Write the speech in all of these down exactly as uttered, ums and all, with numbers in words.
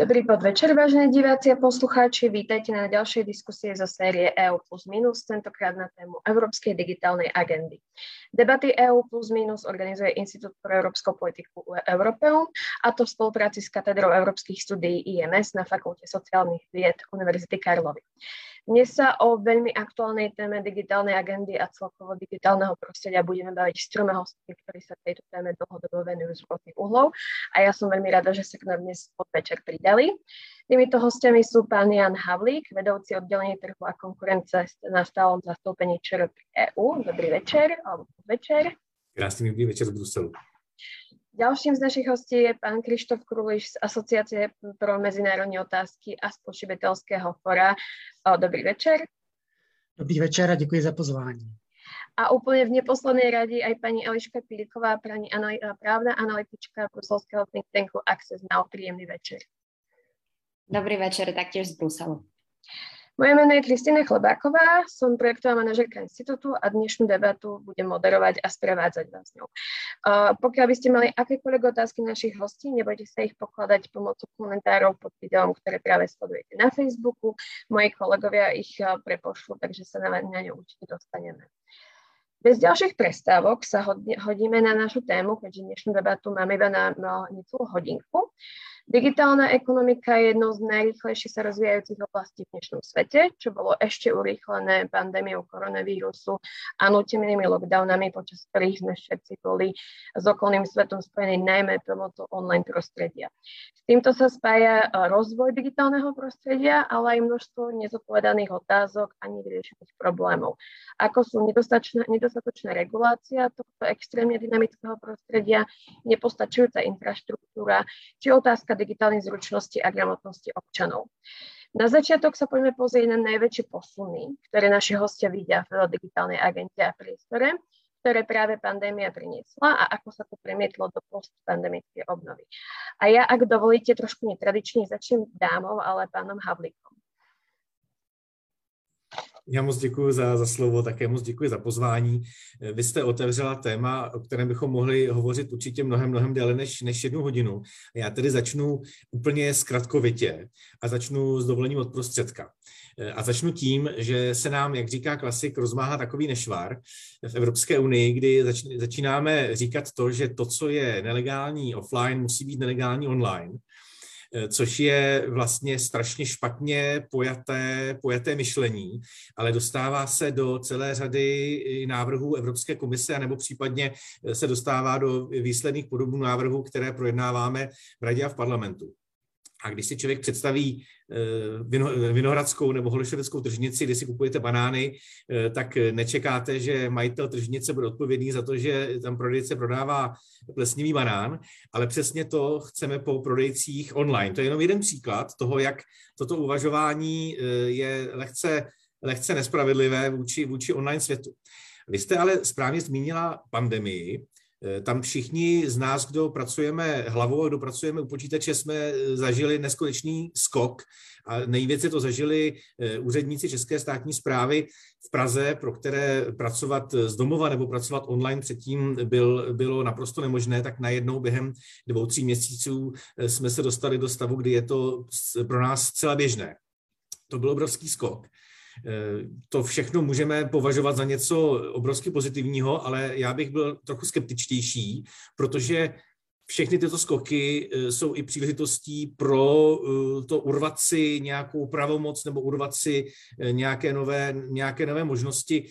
Dobrý podvečer, vážení diváci a poslucháči. Vítajte na ďalšej diskusie zo série é ú plus minus, tentokrát na tému Európskej digitálnej agendy. Debaty é ú plus minus organizuje Inštitút pro európsku politiku Europeum, a to v spolupráci s katedrou európskych studií í em es na Fakulte sociálnych vied Univerzity Karlovy. Dnes sa o veľmi aktuálnej téme digitálnej agendy a celkovo digitálneho prostredia budeme baviť s troma hostmi, ktorí sa tejto téme dlhodobo venujú z rôznych uhlov, a ja som veľmi rada, že sa k nám dnes podvečer pridali. Týmito hostiami sú pán Jan Havlík, vedúci oddelenie trhu a konkurence na stálom zastoupení ČR pri é ú. Dobrý večer, alebo podvečer. Krásný dobrý večer z Bruselu. Ďalším z našich hostí je pán Krištof Kruliš z Asociácie pro mezinárodní otázky a spotřebitelského fora. Dobrý večer. Dobrý večer a děkuji za pozvání. A úplně v neposlednej radi aj pani Eliška Píliková, právna analytička bruselského think tanku Access Now. Príjemný večer. Dobrý večer, taktiež z Bruselu. Moje meno je Kristýna Chlebáková, som projektová manažerka inštitútu a dnešnú debatu budem moderovať a sprevádzať vás ňou. Uh, pokiaľ by ste mali akékoľvek otázky našich hostí, nebojte sa ich pokladať pomocou komentárov pod videom, ktoré práve sledujete na Facebooku. Moji kolegovia ich uh, prepošľú, takže sa na, na ňu určite dostaneme. Bez ďalších prestávok sa hodíme na našu tému, keďže dnešnú debatu máme iba na, na necelú hodinku. Digitálna ekonomika je jednou z najrýchlejšie sa rozvíjajúcich oblastí v dnešnom svete, čo bolo ešte urýchlené pandémiou koronavírusu a nútenými lockdownami, počas ktorých sme všetci boli s okolným svetom spojení najmä pomocou online prostredia. S týmto sa spája rozvoj digitálneho prostredia, ale aj množstvo nezodpovedaných otázok a nevyriešených problémov, ako sú nedostatočná, nedostatočná regulácia tohto extrémne dynamického prostredia, nepostačujúca infraštruktúra, či otázka digitálnych zručností a gramotnosti občanov. Na začiatok sa poďme pozrieť na najväčšie posuny, ktoré naši hostia vidia v digitálnej agende a priestore, ktoré práve pandémia priniesla a ako sa to premietlo do postpandemickej obnovy. A ja, ak dovolíte, trošku netradične začnem dámou, ale pánom Havlíkom. Já moc děkuji za, za slovo, také moc děkuji za pozvání. Vy jste otevřela téma, o kterém bychom mohli hovořit určitě mnohem, mnohem déle než, než jednu hodinu. Já tedy začnu úplně zkratkovitě a začnu s dovolením od prostředka. A začnu tím, že se nám, jak říká klasik, rozmáhá takový nešvar v Evropské unii, kdy zač, začínáme říkat to, že to, co je nelegální offline, musí být nelegální online, což je vlastně strašně špatně pojaté, pojaté myšlení, ale dostává se do celé řady návrhů Evropské komise, nebo případně se dostává do výsledných podobů návrhů, které projednáváme v Radě a v parlamentu. A když si člověk představí Vinohradskou nebo Holešovickou tržnici, kde si kupujete banány, tak nečekáte, že majitel tržnice bude odpovědný za to, že tam prodejce prodává plesnivý banán, ale přesně to chceme po prodejcích online. To je jenom jeden příklad toho, jak toto uvažování je lehce, lehce nespravedlivé vůči, vůči online světu. Vy jste ale správně zmínila pandemii. Tam všichni z nás, kdo pracujeme hlavou a kdo pracujeme u počítače, jsme zažili neskutečný skok a nejvíce to zažili úředníci České státní správy v Praze, pro které pracovat z domova nebo pracovat online předtím byl, bylo naprosto nemožné, tak najednou během dvou, tří měsíců jsme se dostali do stavu, kdy je to pro nás zcela běžné. To byl obrovský skok. To všechno můžeme považovat za něco obrovsky pozitivního, ale já bych byl trochu skeptičtější, protože všechny tyto skoky jsou i příležitostí pro to urvat si nějakou pravomoc nebo urvat si nějaké nové, nějaké nové možnosti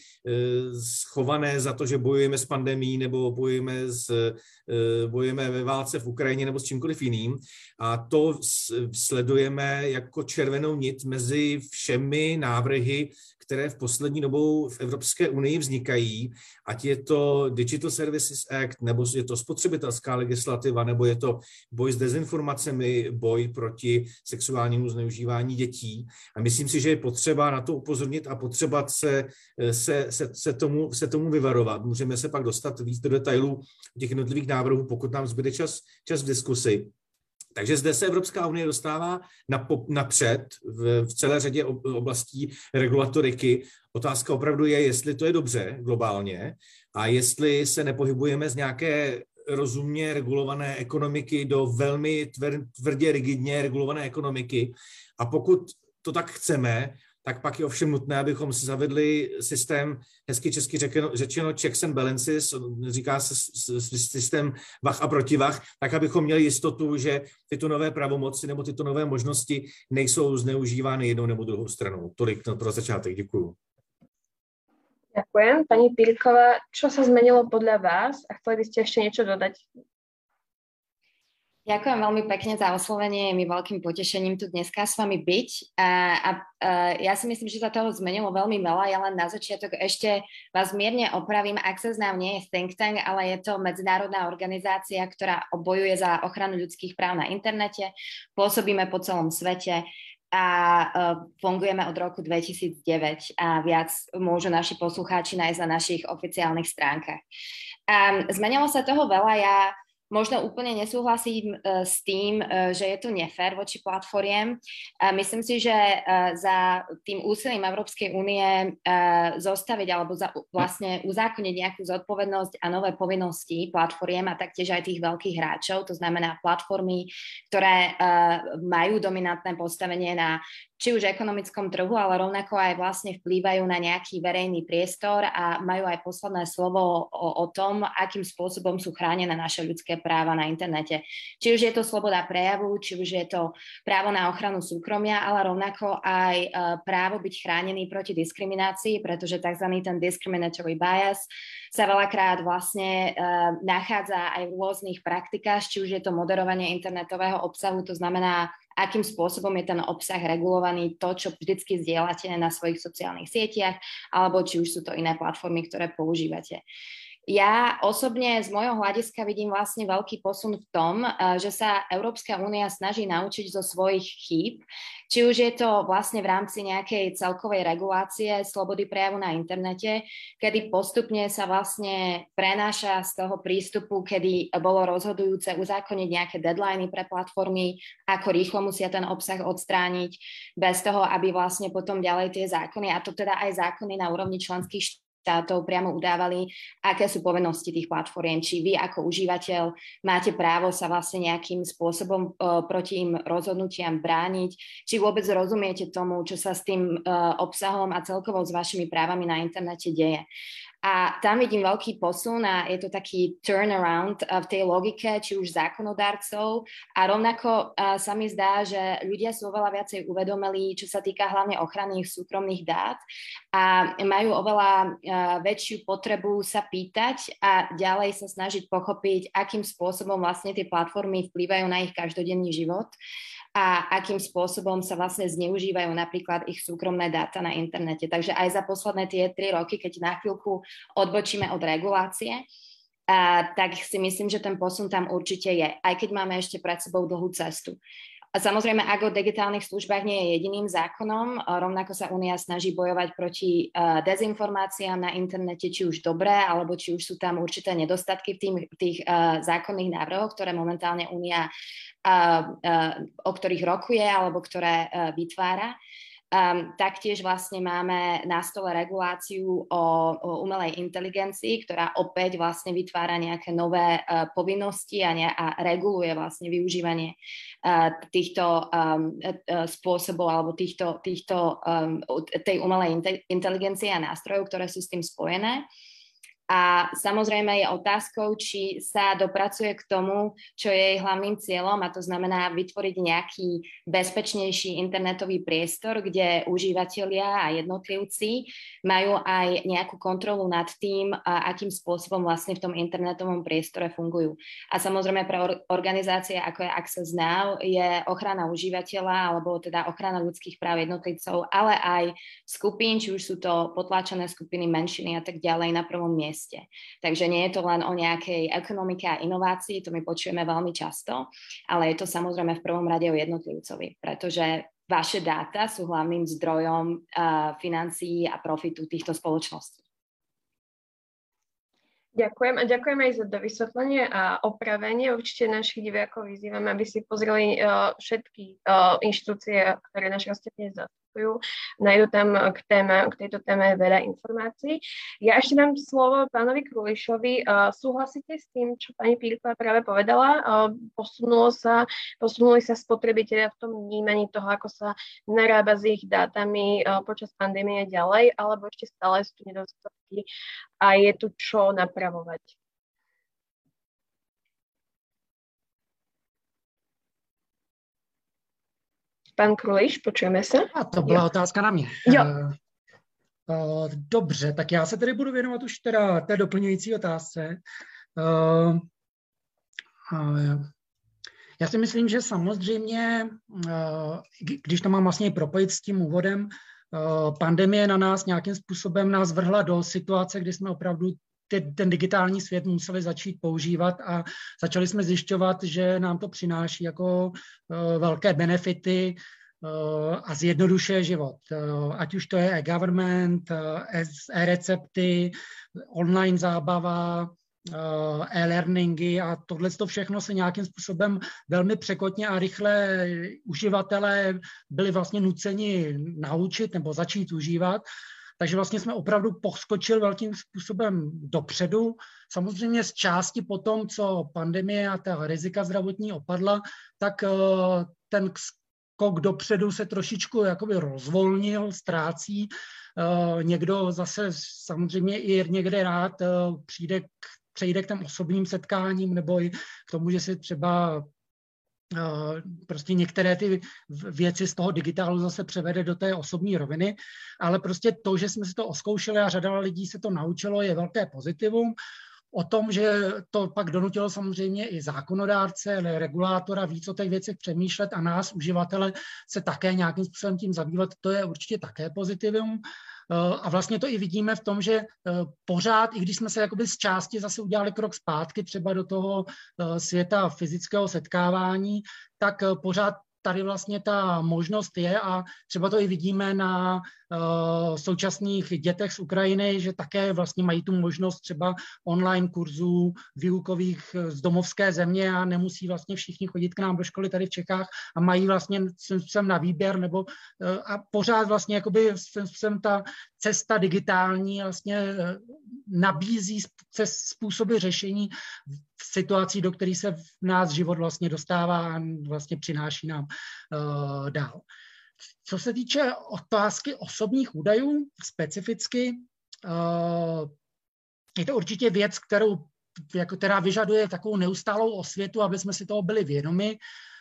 schované za to, že bojujeme s pandemií nebo bojujeme, s, bojujeme ve válce v Ukrajině nebo s čímkoliv jiným. A to sledujeme jako červenou nit mezi všemi návrhy, které v poslední dobou v Evropské unii vznikají, ať je to Digital Services Act, nebo je to spotřebitelská legislativa, nebo je to boj s dezinformacemi, boj proti sexuálnímu zneužívání dětí. A myslím si, že je potřeba na to upozornit a potřeba se, se, se, se, tomu, se tomu vyvarovat. Můžeme se pak dostat víc do detailů těch jednotlivých návrhů, pokud nám zbyde čas, čas v diskusi. Takže zde se Evropská unie dostává napřed v, v celé řadě oblastí regulatoriky. Otázka opravdu je, jestli to je dobře globálně a jestli se nepohybujeme z nějaké rozumně regulované ekonomiky do velmi tvrdě, rigidně regulované ekonomiky. A pokud to tak chceme, tak pak je ovšem nutné, abychom si zavedli systém, hezky česky řečeno, řečeno checks and balances, říká se systém vah a protivah, tak abychom měli jistotu, že tyto nové pravomoci nebo tyto nové možnosti nejsou zneužívány jednou nebo druhou stranou. Tolik pro začátek, děkuju. Ďakujem. Pani Pírková, čo sa zmenilo podľa vás a chceli by ste ešte niečo dodať? Ďakujem veľmi pekne za oslovenie, je mi veľkým potešením tu dneska s vami byť. A, a, a ja si myslím, že sa toho zmenilo veľmi veľa. Ja len na začiatok ešte vás mierne opravím. Access Now nie je think tank, ale je to medzinárodná organizácia, ktorá bojuje za ochranu ľudských práv na internete. Pôsobíme po celom svete a uh, fungujeme od roku dvetisícdeväť a viac môžu naši poslucháči nájsť na našich oficiálnych stránkach. Um, zmenilo sa toho veľa, ja možno úplne nesúhlasím uh, s tým, uh, že je to nefér voči platformiem. Uh, myslím si, že uh, za tým úsilím Európskej únie uh, zostaviť alebo za, vlastne uzákoniť nejakú zodpovednosť a nové povinnosti platformiem a taktiež aj tých veľkých hráčov, to znamená platformy, ktoré uh, majú dominantné postavenie na či už ekonomickom trhu, ale rovnako aj vlastne vplývajú na nejaký verejný priestor a majú aj posledné slovo o, o tom, akým spôsobom sú chránené naše ľudské práva na internete. Či už je to sloboda prejavu, či už je to právo na ochranu súkromia, ale rovnako aj uh, právo byť chránený proti diskriminácii, pretože tzv. Ten discriminatory bias sa veľakrát vlastne uh, nachádza aj v rôznych praktikách, či už je to moderovanie internetového obsahu, to znamená, akým spôsobom je ten obsah regulovaný, to, čo vždycky zdieľate na svojich sociálnych sieťach, alebo či už sú to iné platformy, ktoré používate. Ja osobne z môjho hľadiska vidím vlastne veľký posun v tom, že sa Európska únia snaží naučiť zo svojich chýb, či už je to vlastne v rámci nejakej celkovej regulácie slobody prejavu na internete, kedy postupne sa vlastne prenáša z toho prístupu, kedy bolo rozhodujúce uzákoniť nejaké deadliny pre platformy, ako rýchlo musia ten obsah odstrániť, bez toho, aby vlastne potom ďalej tie zákony, a to teda aj zákony na úrovni členských štátov, štátov priamo udávali, aké sú povinnosti tých platformiem, či vy ako užívateľ máte právo sa vlastne nejakým spôsobom uh, proti im rozhodnutiam brániť, či vôbec rozumiete tomu, čo sa s tým uh, obsahom a celkovo s vašimi právami na internete deje. A tam vidím veľký posun a je to taký turnaround v tej logike, či už zákonodárcov, a rovnako uh, sa mi zdá, že ľudia sú oveľa viacej uvedomili, čo sa týka hlavne ochrany ich súkromných dát a majú oveľa uh, väčšiu potrebu sa pýtať a ďalej sa snažiť pochopiť, akým spôsobom vlastne tie platformy vplývajú na ich každodenný život a akým spôsobom sa vlastne zneužívajú napríklad ich súkromné dáta na internete. Takže aj za posledné tie tri roky, keď na chvíľku odbočíme od regulácie, a, tak si myslím, že ten posun tam určite je, aj keď máme ešte pred sebou dlhú cestu. A samozrejme, ak o digitálnych službách nie je jediným zákonom, rovnako sa Únia snaží bojovať proti uh, dezinformáciám na internete, či už dobré, alebo či už sú tam určité nedostatky v tým, tých uh, zákonných návrhoch, ktoré momentálne Únia, uh, uh, o ktorých rokuje, alebo ktoré uh, vytvára. Um, taktiež vlastne máme na stole reguláciu o, o umelej inteligencii, ktorá opäť vlastne vytvára nejaké nové uh, povinnosti a, ne, a reguluje vlastne využívanie uh, týchto um, uh, spôsobov alebo týchto, týchto, um, tej umelej inteligencie a nástrojov, ktoré sú s tým spojené. A samozrejme je otázkou, či sa dopracuje k tomu, čo je jej hlavným cieľom, a to znamená vytvoriť nejaký bezpečnejší internetový priestor, kde užívateľia a jednotlivci majú aj nejakú kontrolu nad tým, akým spôsobom vlastne v tom internetovom priestore fungujú. A samozrejme pre organizácie ako je Access Now je ochrana užívateľa alebo teda ochrana ľudských práv jednotlivcov, ale aj skupín, či už sú to potláčané skupiny, menšiny a tak ďalej na prvom mieste. Takže nie je to len o nejakej ekonomike a inovácii, to my počujeme veľmi často, ale je to samozrejme v prvom rade o jednotlivcovi, pretože vaše dáta sú hlavným zdrojom uh, financií a profitu týchto spoločností. Ďakujem a ďakujem aj za dovysvetlenie a opravenie. Určite našich divákov vyzývame, aby si pozreli uh, všetky uh, inštitúcie, ktoré naši hostia dnes pristupujú, nájdu tam k, téma, k tejto téme veľa informácií. Ja ešte dám slovo pánovi Krulišovi. Uh, súhlasíte s tým, čo pani Píriková práve povedala? Uh, posunulo sa, posunuli sa spotrebitelia v tom vnímaní toho, ako sa narába s ich dátami uh, počas pandémie ďalej, alebo ešte stále sú tu nedostatky a je tu čo napravovať? Pan Kruliš, počujeme se? A to byla jo. otázka na mě. Jo. Dobře, tak já se tedy budu věnovat už teda té doplňující otázce. Já si myslím, že samozřejmě, když to mám vlastně propojit s tím úvodem, pandemie na nás nějakým způsobem nás vrhla do situace, kdy jsme opravdu ten digitální svět museli začít používat a začali jsme zjišťovat, že nám to přináší jako velké benefity a zjednodušuje život. Ať už to je e-government, e-recepty, online zábava, e-learningy a tohle to všechno se nějakým způsobem velmi překotně a rychle uživatelé byli vlastně nuceni naučit nebo začít užívat. Takže vlastně jsme opravdu poskočili velkým způsobem dopředu. Samozřejmě z části po tom, co pandemie a ta rizika zdravotní opadla, tak ten skok dopředu se trošičku jakoby rozvolnil, ztrácí. Někdo zase samozřejmě i někde rád přijde k, přejde k těm osobním setkáním nebo i k tomu, že si třeba prostě některé ty věci z toho digitálu zase převede do té osobní roviny, ale prostě to, že jsme si to oskoušeli a řada lidí se to naučilo, je velké pozitivum. O tom, že to pak donutilo samozřejmě i zákonodárce, regulátora víc o těch věcech přemýšlet a nás, uživatele, se také nějakým způsobem tím zabývat, to je určitě také pozitivum. A vlastně to i vidíme v tom, že pořád, i když jsme se jakoby z části zase udělali krok zpátky třeba do toho světa fyzického setkávání, tak pořád tady vlastně ta možnost je a třeba to i vidíme na uh, současných dětech z Ukrajiny, že také vlastně mají tu možnost třeba online kurzů výukových z domovské země a nemusí vlastně všichni chodit k nám do školy tady v Čechách a mají vlastně sem na výběr nebo uh, a pořád vlastně jakoby sem ta cesta digitální vlastně uh, nabízí způsoby řešení v situaci, do které se v nás život vlastně dostává a vlastně přináší nám uh, dál. Co se týče otázky osobních údajů specificky, uh, je to určitě věc, kterou, jako, která vyžaduje takovou neustálou osvětu, aby jsme si toho byli vědomi.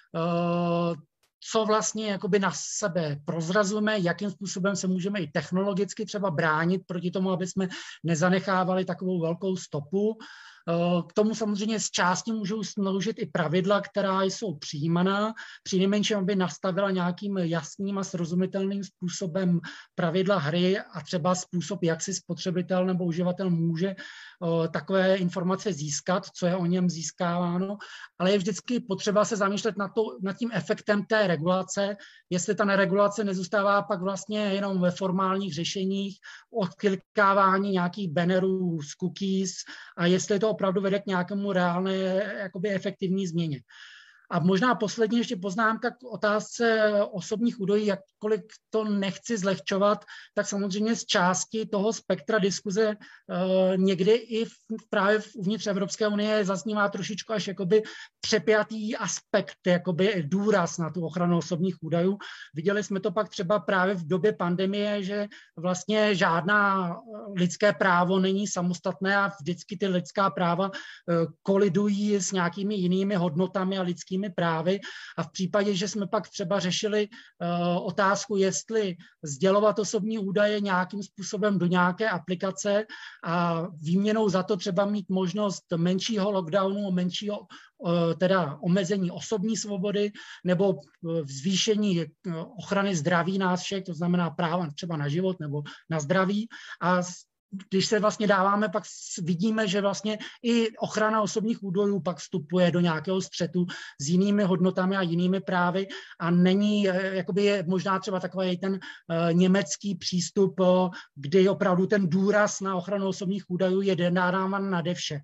Uh, co vlastně jakoby na sebe prozrazujeme, jakým způsobem se můžeme i technologicky třeba bránit proti tomu, aby jsme nezanechávali takovou velkou stopu. K tomu samozřejmě z části můžou sloužit i pravidla, která jsou přijímaná, přinejmenším, aby nastavila nějakým jasným a srozumitelným způsobem pravidla hry a třeba způsob, jak si spotřebitel nebo uživatel může takové informace získat, co je o něm získáváno, ale je vždycky potřeba se zamýšlet nad, to, nad tím efektem té regulace, jestli ta neregulace nezůstává pak vlastně jenom ve formálních řešeních, odklikávání nějakých bannerů z cookies a jestli to opravdu vede k nějakému reálné jakoby efektivní změně. A možná poslední ještě poznámka k otázce osobních údajů, jakkoliv to nechci zlehčovat, tak samozřejmě z části toho spektra diskuze uh, někdy i v, právě uvnitř Evropské unie zaznívá trošičku až jakoby přepjatý aspekt, jakoby důraz na tu ochranu osobních údajů. Viděli jsme to pak třeba právě v době pandemie, že vlastně žádná lidské právo není samostatné a vždycky ty lidská práva uh, kolidují s nějakými jinými hodnotami a lidskými právy a v případě, že jsme pak třeba řešili uh, otázku, jestli sdělovat osobní údaje nějakým způsobem do nějaké aplikace a výměnou za to třeba mít možnost menšího lockdownu, menšího uh, teda omezení osobní svobody nebo uh, zvýšení uh, ochrany zdraví nás všech, to znamená práva třeba na život nebo na zdraví a když se vlastně dáváme, pak vidíme, že vlastně i ochrana osobních údajů pak vstupuje do nějakého střetu s jinými hodnotami a jinými právy a není, jakoby je možná třeba takový ten uh, německý přístup, uh, kdy opravdu ten důraz na ochranu osobních údajů je dáván nade vše.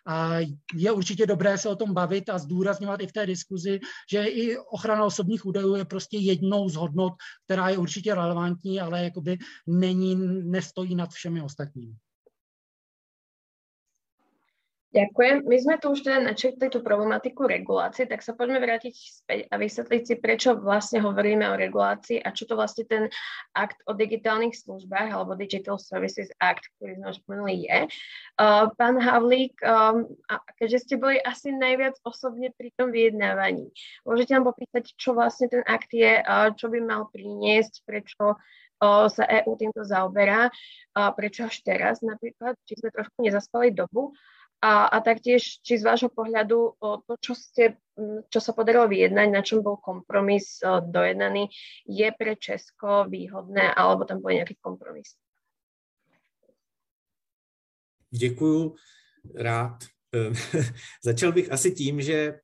A je určitě dobré se o tom bavit a zdůrazňovat i v té diskuzi, že i ochrana osobních údajů je prostě jednou z hodnot, která je určitě relevantní, ale jakoby není, nestojí nad všemi ostatními. Ďakujem. My sme tu už teda načrtli tú problematiku regulácie, tak sa poďme vrátiť späť a vysvetliť si, prečo vlastne hovoríme o regulácii a čo to vlastne ten akt o digitálnych službách alebo Digital Services Act, ktorý sme už spomenuli, je. Uh, pán Havlík, um, a keďže ste boli asi najviac osobne pri tom vyjednávaní, môžete nám popýtať, čo vlastne ten akt je, uh, čo by mal priniesť, prečo uh, sa é ú týmto zaoberá, uh, prečo až teraz napríklad, či sme trošku nezaspali dobu. A, a taktiež, či z vášho pohľadu o to, čo, ste, čo sa podarilo vyjednať, na čom bol kompromis o, dojednaný, je pre Česko výhodné, alebo tam bol nejaký kompromis? Děkuju, rád. Začal bych asi tím, že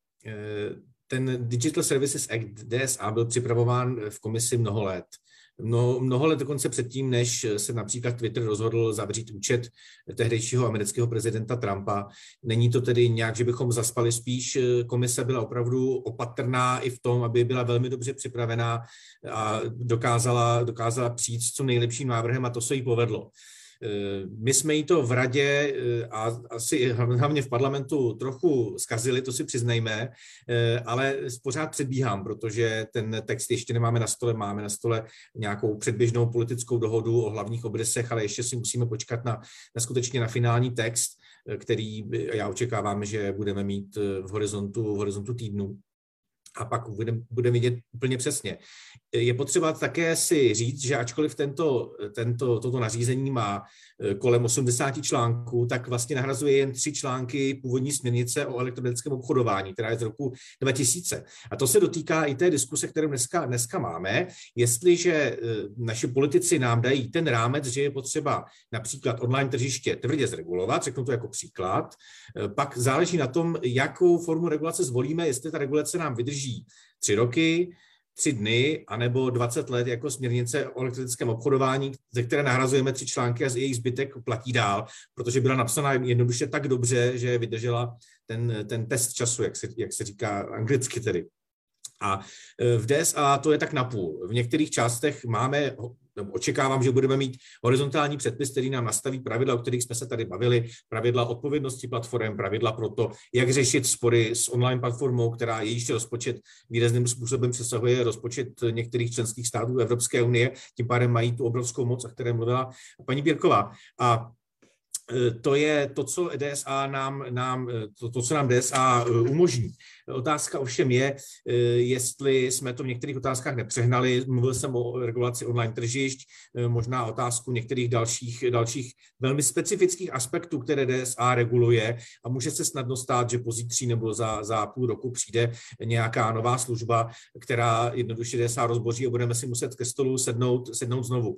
ten Digital Services Act D S A byl připravován v komisi mnoho let. Mnoho, mnoho let dokonce předtím, než se například Twitter rozhodl zavřít účet tehdejšího amerického prezidenta Trumpa. Není to tedy nějak, že bychom zaspali, spíš komise byla opravdu opatrná i v tom, aby byla velmi dobře připravená a dokázala, dokázala přijít s co nejlepším návrhem a to se jí povedlo. My jsme jí to v radě a asi hlavně v parlamentu trochu zkazili, to si přiznejme, ale pořád předbíhám, protože ten text ještě nemáme na stole, máme na stole nějakou předběžnou politickou dohodu o hlavních obrysech, ale ještě si musíme počkat na, na skutečně na finální text, který já očekávám, že budeme mít v horizontu, v horizontu týdnu. A pak budeme bude vidět úplně přesně. Je potřeba také si říct, že ačkoliv tento, tento, toto nařízení má kolem osmdesáti článků, tak vlastně nahrazuje jen tři články původní směrnice o elektronickém obchodování, která je z roku dva tisíce. A to se dotýká i té diskuse, kterou dneska, dneska máme. Jestliže naši politici nám dají ten rámec, že je potřeba například online tržiště tvrdě zregulovat, řeknu to jako příklad, pak záleží na tom, jakou formu regulace zvolíme, jestli ta regulace nám vydrží tři roky, tři dny, anebo dvacet let jako směrnice o elektronickém obchodování, ze které nahrazujeme tři články a z jejich zbytek platí dál, protože byla napsaná jednoduše tak dobře, že vydržela ten, ten test času, jak se, jak se říká anglicky tedy. A v D S A to je tak napůl. V některých částech máme, očekávám, že budeme mít horizontální předpis, který nám nastaví pravidla, o kterých jsme se tady bavili, pravidla odpovědnosti platform, pravidla pro to, jak řešit spory s online platformou, která jejíž rozpočet výrazným způsobem přesahuje rozpočet některých členských států Evropské unie, tím pádem mají tu obrovskou moc, o které mluvila paní Birková. A to je to, co D S A nám, nám, to, to, co nám D S A umožní. Otázka ovšem je, jestli jsme to v některých otázkách nepřehnali. Mluvil jsem o regulaci online tržišť, možná otázku některých dalších, dalších velmi specifických aspektů, které D S A reguluje a může se snadno stát, že pozítří nebo za, za půl roku přijde nějaká nová služba, která jednoduše D S A rozboří a budeme si muset ke stolu sednout, sednout znovu.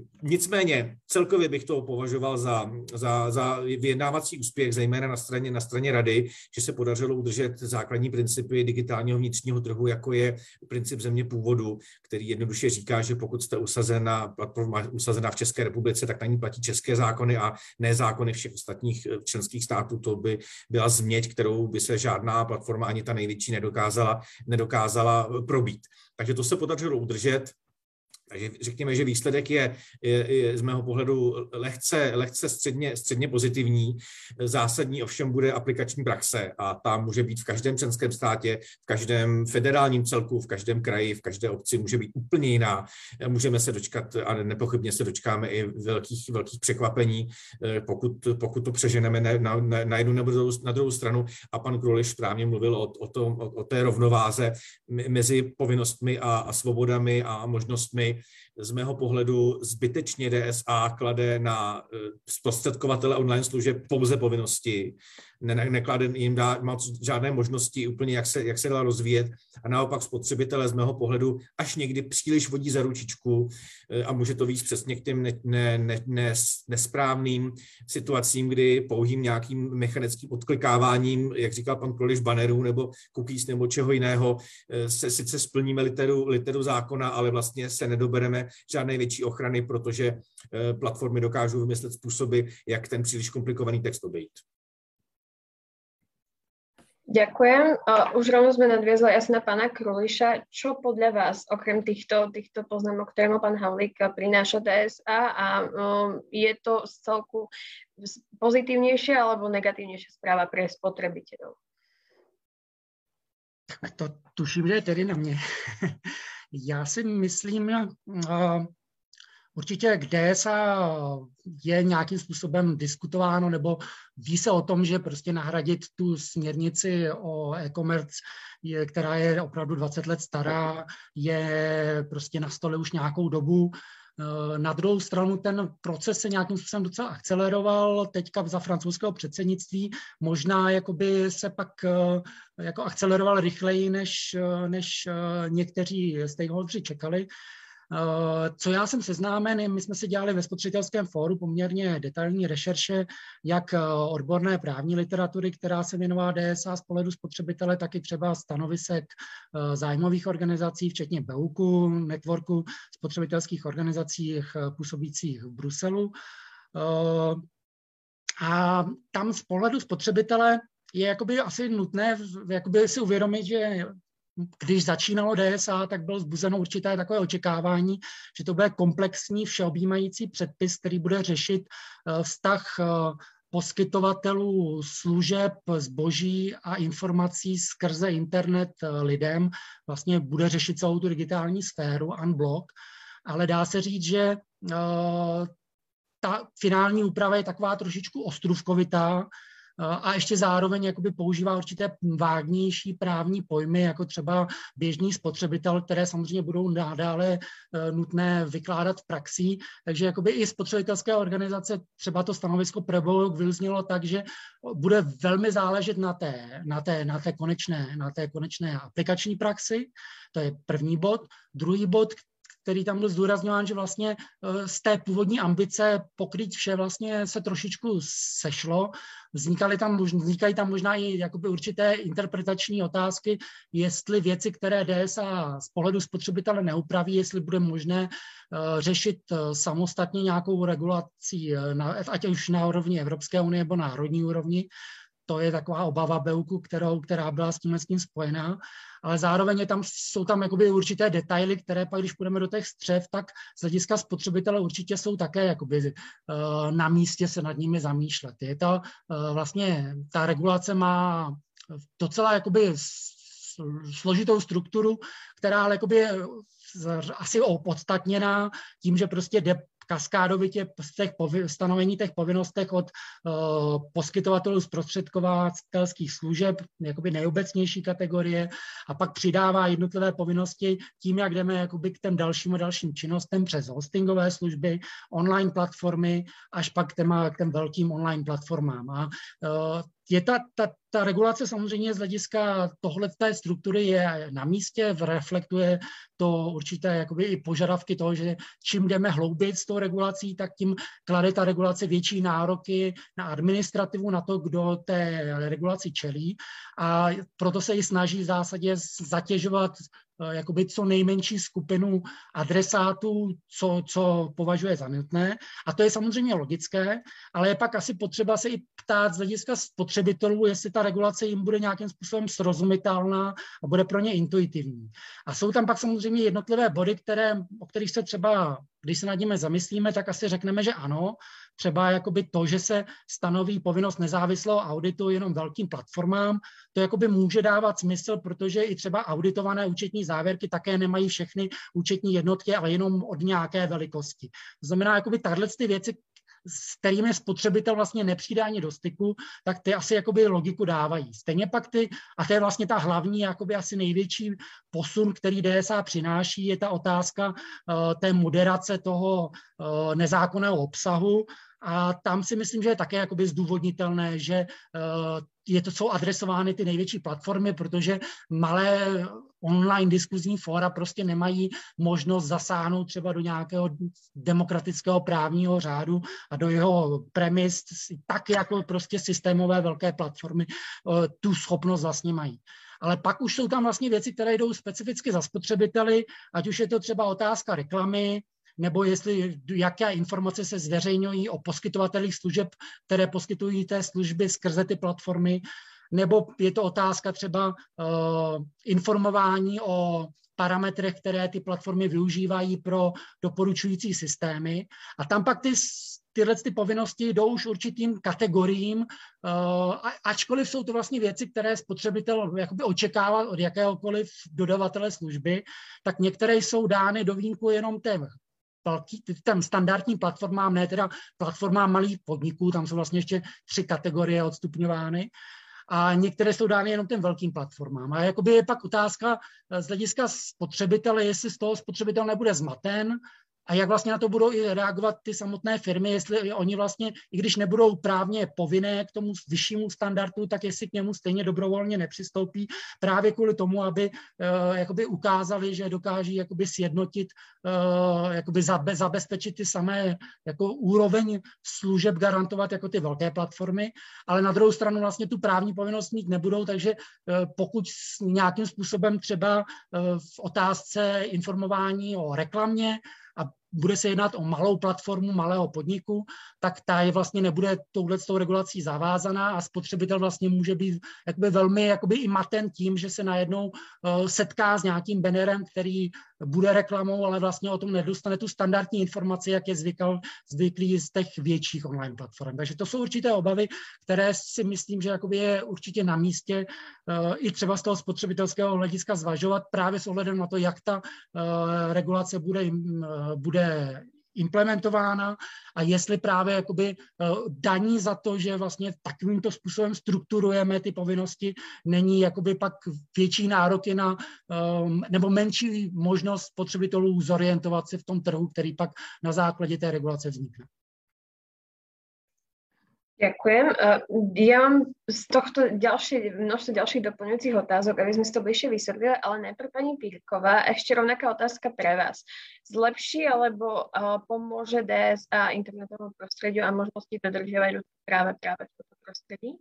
Nicméně celkově bych to považoval za, za, za vyjednávací úspěch, zejména na straně, na straně Rady, že se podařilo udržet základní principy digitálního vnitřního trhu, jako je princip země původu, který jednoduše říká, že pokud jste usazena, platforma usazená v České republice, tak na ní platí české zákony a ne zákony všech ostatních členských států. To by byla změť, kterou by se žádná platforma, ani ta největší, nedokázala, nedokázala probít. Takže to se podařilo udržet. Takže řekněme, že výsledek je, je, je z mého pohledu lehce, lehce středně, středně pozitivní. Zásadní ovšem bude aplikační praxe a ta může být v každém členském státě, v každém federálním celku, v každém kraji, v každé obci může být úplně jiná. Můžeme se dočkat a nepochybně se dočkáme i velkých, velkých překvapení, pokud, pokud to přeženeme na, na, na jednu nebo na druhou stranu. A pan Kruliš správně mluvil o, o, tom, o, o té rovnováze mezi povinnostmi a, a svobodami a možnostmi. Z mého pohledu zbytečně D S A klade na zprostředkovatele online služeb pouze povinnosti, ne, neklade jim dá moc žádné možnosti úplně, jak se, jak se dá rozvíjet a naopak spotřebitele z mého pohledu až někdy příliš vodí za ručičku a může to víc přesně k těm ne, ne, ne, ne, nesprávným situacím, kdy pouhým nějakým mechanickým odklikáváním, jak říkal pan Kroliš, bannerů nebo cookies nebo čeho jiného, se sice splníme literu, literu zákona, ale vlastně se nedobereme žádné větší ochrany, protože platformy dokážou vymyslet způsoby, jak ten příliš komplikovaný text obejít. Ďakujem. Uh, už rovno sme nadviazli asi na pána Kruliša. Čo podľa vás, okrem týchto, týchto poznámok, ktoré mal pán Havlík, prináša dé es á a um, je to z celku pozitívnejšia alebo negatívnejšia správa pre spotrebiteľov? Tak to tuším, že je tedy na mě. Já si myslím, uh, určitě k dé es á je nějakým způsobem diskutováno, nebo ví se o tom, že prostě nahradit tu směrnici o e-commerce, je, která je opravdu dvacet let stará, je prostě na stole už nějakou dobu. Na druhou stranu ten proces se nějakým způsobem docela akceleroval teďka za francouzského předsednictví. Možná jakoby se pak jako akceleroval rychleji, než, než někteří stakeholderi čekali. Co já jsem seznámen, my jsme si dělali ve spotřebitelském fóru poměrně detailní rešerše, jak odborné právní literatury, která se věnovala dé es á z pohledu spotřebitele, tak i třeba stanovisek zájmových organizací, včetně BEUKu, networku spotřebitelských organizací působících v Bruselu. A tam z pohledu spotřebitele je jakoby asi nutné jakoby si uvědomit, že když začínalo dé es á, tak bylo vzbuzeno určité takové očekávání, že to bude komplexní, všeobjímající předpis, který bude řešit vztah poskytovatelů služeb, zboží a informací skrze internet lidem. Vlastně bude řešit celou tu digitální sféru unblock, ale dá se říct, že ta finální úprava je taková trošičku ostrůvkovitá, a ještě zároveň jakoby používá určité vágnější právní pojmy, jako třeba běžný spotřebitel, které samozřejmě budou nadále nutné vykládat v praxi. Takže jakoby i spotřebitelské organizace třeba to stanovisko Prevouk vyznělo tak, že bude velmi záležet na té, na té, na té, konečné, na té konečné aplikační praxi. To je první bod. Druhý bod, který tam byl zdůrazňován, že vlastně z té původní ambice pokrýt vše vlastně se trošičku sešlo. Vznikaly tam, vznikají tam možná i jakoby určité interpretační otázky, jestli věci, které dé es á z pohledu spotřebitele neupraví, jestli bude možné řešit samostatně nějakou regulací, ať už na úrovni Evropské unie nebo národní úrovni. To je taková obava BEUKu, kterou, která byla s tímhle s tím spojená, ale zároveň je tam, jsou tam jakoby určité detaily, které pak, když půjdeme do těch střev, tak z hlediska spotřebitele určitě jsou také jakoby, uh, na místě se nad nimi zamýšlet. Je to uh, vlastně, ta regulace má docela jakoby složitou strukturu, která ale jakoby je asi opodstatněná tím, že prostě jde kaskádovitě z těch stanovení těch povinnostech od uh, poskytovatelů zprostředkovatelských služeb, jakoby nejobecnější kategorie, a pak přidává jednotlivé povinnosti tím, jak jdeme jakoby k těm dalším a dalším činnostem přes hostingové služby, online platformy, až pak k těm, k těm velkým online platformám. A uh, je ta, ta, ta regulace samozřejmě z hlediska tohleté struktury je na místě, reflektuje to určité jakoby i požadavky toho, že čím jdeme hloubit s tou regulací, tak tím klade ta regulace větší nároky na administrativu, na to, kdo té regulaci čelí, a proto se i snaží v zásadě zatěžovat jakoby co nejmenší skupinu adresátů, co, co považuje za nutné. A to je samozřejmě logické, ale je pak asi potřeba se i ptát z hlediska spotřebitelů, jestli ta regulace jim bude nějakým způsobem srozumitelná a bude pro ně intuitivní. A jsou tam pak samozřejmě jednotlivé body, které, o kterých se třeba, když se nad nimi zamyslíme, tak asi řekneme, že ano. Třeba jakoby to, že se stanoví povinnost nezávislého auditu jenom velkým platformám, to jakoby může dávat smysl, protože i třeba auditované účetní závěrky také nemají všechny účetní jednotky, ale jenom od nějaké velikosti. To znamená, jakoby tahle ty věci, s kterými spotřebitel vlastně nepřijde ani do styku, tak ty asi jakoby logiku dávají. Stejně pak ty, a to je vlastně ta hlavní, jakoby asi největší posun, který dé es á přináší, je ta otázka uh, té moderace toho uh, nezákonného obsahu. A tam si myslím, že je také jakoby zdůvodnitelné, že uh, je to, jsou adresovány ty největší platformy, protože malé online diskuzní fóra prostě nemají možnost zasáhnout třeba do nějakého demokratického právního řádu a do jeho premis, tak jako prostě systémové velké platformy uh, tu schopnost vlastně mají. Ale pak už jsou tam vlastně věci, které jdou specificky za spotřebiteli, ať už je to třeba otázka reklamy, nebo jestli, jaké informace se zveřejňují o poskytovatelích služeb, které poskytují té služby skrze ty platformy. nebo je to otázka třeba uh, informování o parametrech, které ty platformy využívají pro doporučující systémy. A tam pak ty, tyhle ty povinnosti jdou už určitým kategoriím, uh, ačkoliv jsou to vlastně věci, které spotřebitel jakoby očekává od jakéhokoliv dodavatele služby, tak některé jsou dány do výjimku jenom těm velký, tam standardním platformám, ne teda platformám malých podniků, tam jsou vlastně ještě tři kategorie odstupňovány, a některé jsou dány jenom těm velkým platformám. A jakoby je pak otázka z hlediska spotřebitele, jestli z toho spotřebitel nebude zmaten a jak vlastně na to budou i reagovat ty samotné firmy, jestli oni vlastně, i když nebudou právně povinné k tomu vyššímu standardu, tak jestli k němu stejně dobrovolně nepřistoupí právě kvůli tomu, aby uh, jakoby ukázali, že dokáží jakoby sjednotit, uh, jakoby zabe, zabezpečit ty samé jako úroveň služeb garantovat jako ty velké platformy, ale na druhou stranu vlastně tu právní povinnost mít nebudou, takže uh, pokud nějakým způsobem třeba uh, v otázce informování o reklamě a bude se jednat o malou platformu, malého podniku, tak ta je vlastně nebude touhletou regulací zavázaná a spotřebitel vlastně může být jakoby velmi jakoby i maten tím, že se najednou uh, setká s nějakým bannerem, který bude reklamou, ale vlastně o tom nedostane tu standardní informaci, jak je zvykal, zvyklý z těch větších online platform. Takže to jsou určité obavy, které si myslím, že jakoby je určitě na místě uh, i třeba z toho spotřebitelského hlediska zvažovat právě s ohledem na to, jak ta uh, regulace bude, uh, bude implementována a jestli právě jakoby daní za to, že vlastně takovýmto způsobem strukturujeme ty povinnosti, není jakoby pak větší nároky na, nebo menší možnost spotřebitelů zorientovat se v tom trhu, který pak na základě té regulace vznikne. Ďakujem. Ja mám z tohto ďalšie, množstvo ďalších doplňujúcich otázok, aby sme si to bližšie vysvetlili, ale najprv pani Pírková, ešte rovnaká otázka pre vás. Zlepší alebo uh, pomôže dé es á internetovému prostrediu a možnosti dodržiavať ľudské práva práve v tomto prostredí?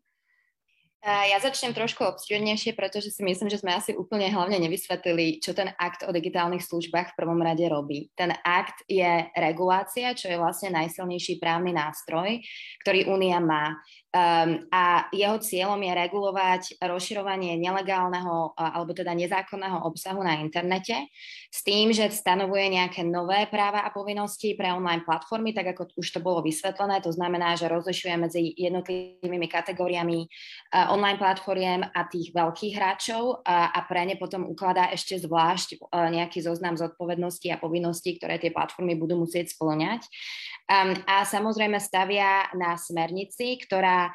Ja začnem trošku obširnejšie, pretože si myslím, že sme asi úplne hlavne nevysvetlili, čo ten akt o digitálnych službách v prvom rade robí. Ten akt je regulácia, čo je vlastne najsilnejší právny nástroj, ktorý Únia má. Um, a jeho cieľom je regulovať rozširovanie nelegálneho alebo teda nezákonného obsahu na internete s tým, že stanovuje nejaké nové práva a povinnosti pre online platformy, tak ako už to bolo vysvetlené. To znamená, že rozlišuje medzi jednotlivými kategóriami uh, online platformiem a tých veľkých hráčov a, a pre ne potom ukladá ešte zvlášť uh, nejaký zoznam zodpovedností a povinností, ktoré tie platformy budú musieť spĺňať. Um, a samozrejme stavia na smernici, ktorá uh,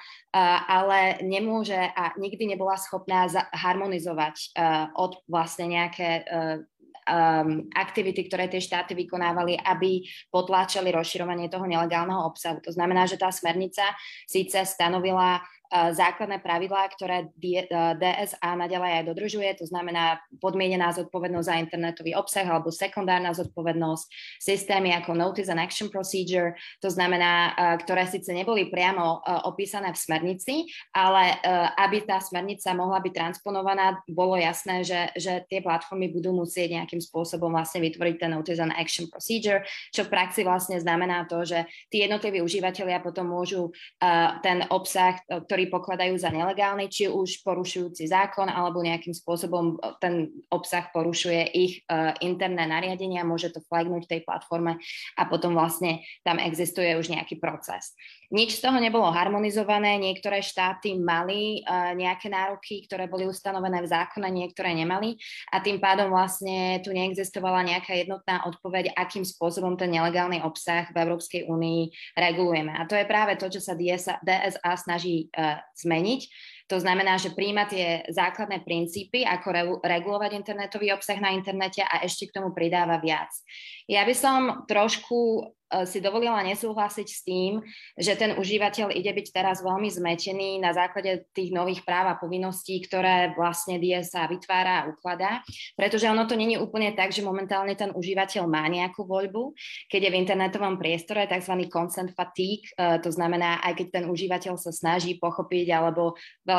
ale nemôže a nikdy nebola schopná za- harmonizovať uh, od vlastne nejaké uh, um, aktivity, ktoré tie štáty vykonávali, aby potláčali rozširovanie toho nelegálneho obsahu. To znamená, že tá smernica síce stanovila základné pravidlá, ktoré dé es á naďalej aj dodržuje, to znamená podmienená zodpovednosť za internetový obsah alebo sekundárna zodpovednosť, systémy ako Notice and Action Procedure, to znamená, ktoré síce neboli priamo opísané v smernici, ale aby tá smernica mohla byť transponovaná, bolo jasné, že, že tie platformy budú musieť nejakým spôsobom vlastne vytvoriť ten Notice and Action Procedure, čo v praxi vlastne znamená to, že tí jednotliví užívateľia potom môžu ten obsah, ktorý pokladajú za nelegálny, či už porušujúci zákon, alebo nejakým spôsobom ten obsah porušuje ich uh, interné nariadenia, môže to flagnúť tej platforme a potom vlastne tam existuje už nejaký proces. Nič z toho nebolo harmonizované, niektoré štáty mali uh, nejaké nároky, ktoré boli ustanovené v zákone, niektoré nemali a tým pádom vlastne tu neexistovala nejaká jednotná odpoveď, akým spôsobom ten nelegálny obsah v Európskej únii regulujeme. A to je práve to, čo sa dé es á snaží uh, zmeniť. To znamená, že prijíma tie základné princípy, ako regulovať internetový obsah na internete a ešte k tomu pridáva viac. Ja by som trošku si dovolila nesúhlasiť s tým, že ten užívateľ ide byť teraz veľmi zmetený na základe tých nových práv a povinností, ktoré vlastne dé es á vytvára a ukladá, pretože ono to nie je úplne tak, že momentálne ten užívateľ má nejakú voľbu, keď je v internetovom priestore tzv. Consent fatigue, to znamená, aj keď ten užívateľ sa snaží pochopiť alebo veľa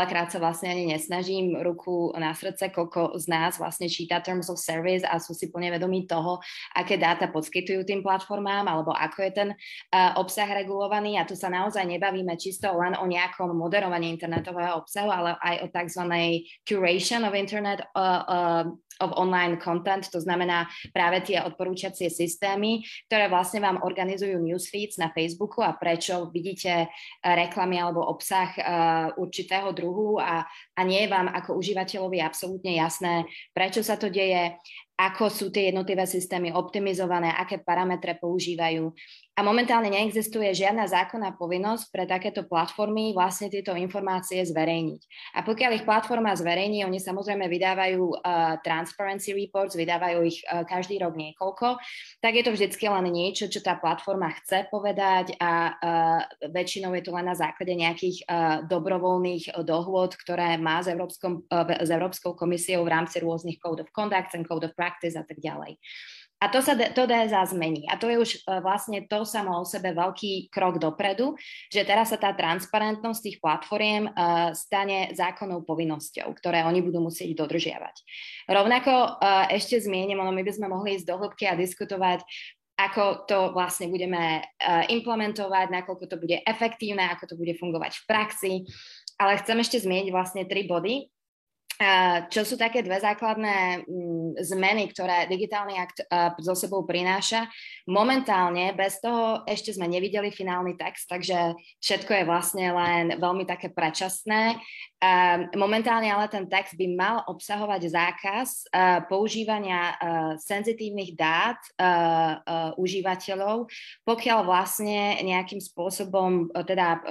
veľakrát sa vlastne ani nesnažím, ruku na srdce, koľko z nás vlastne číta Terms of Service a sú si plne vedomí toho, aké dáta poskytujú tým platformám, alebo ako je ten uh, obsah regulovaný. A tu sa naozaj nebavíme čisto len o nejakom moderovaní internetového obsahu, ale aj o tzv. Curation of internet uh, uh, of online content, to znamená práve tie odporúčacie systémy, ktoré vlastne vám organizujú newsfeeds na Facebooku a prečo vidíte reklamy alebo obsah uh, určitého druhu a, a nie je vám ako užívateľovi absolútne jasné, prečo sa to deje, ako sú tie jednotlivé systémy optimizované, aké parametre používajú. A momentálne neexistuje žiadna zákonná povinnosť pre takéto platformy vlastne tieto informácie zverejniť. A pokiaľ ich platforma zverejní, oni samozrejme vydávajú uh, transparency reports, vydávajú ich uh, každý rok niekoľko, tak je to vždycky len niečo, čo tá platforma chce povedať a uh, väčšinou je to len na základe nejakých uh, dobrovoľných dohôd, ktoré má s, Európskom, uh, s Európskou komisiou v rámci rôznych code of conduct and code of practice a tak ďalej. A to sa to dé es á zmení. A to je už uh, vlastne to samo o sebe veľký krok dopredu, že teraz sa tá transparentnosť tých platformiem uh, stane zákonnou povinnosťou, ktoré oni budú musieť dodržiavať. Rovnako uh, ešte zmiením, ono my by sme mohli ísť do hĺbky a diskutovať, ako to vlastne budeme uh, implementovať, nakoľko to bude efektívne, ako to bude fungovať v praxi. Ale chcem ešte zmieniť vlastne tri body, čo sú také dve základné zmeny, ktoré digitálny akt so sebou prináša. Momentálne bez toho ešte sme nevideli finálny text, takže všetko je vlastne len veľmi také predčasné. Momentálne ale ten text by mal obsahovať zákaz používania senzitívnych dát užívateľov, pokiaľ vlastne nejakým spôsobom teda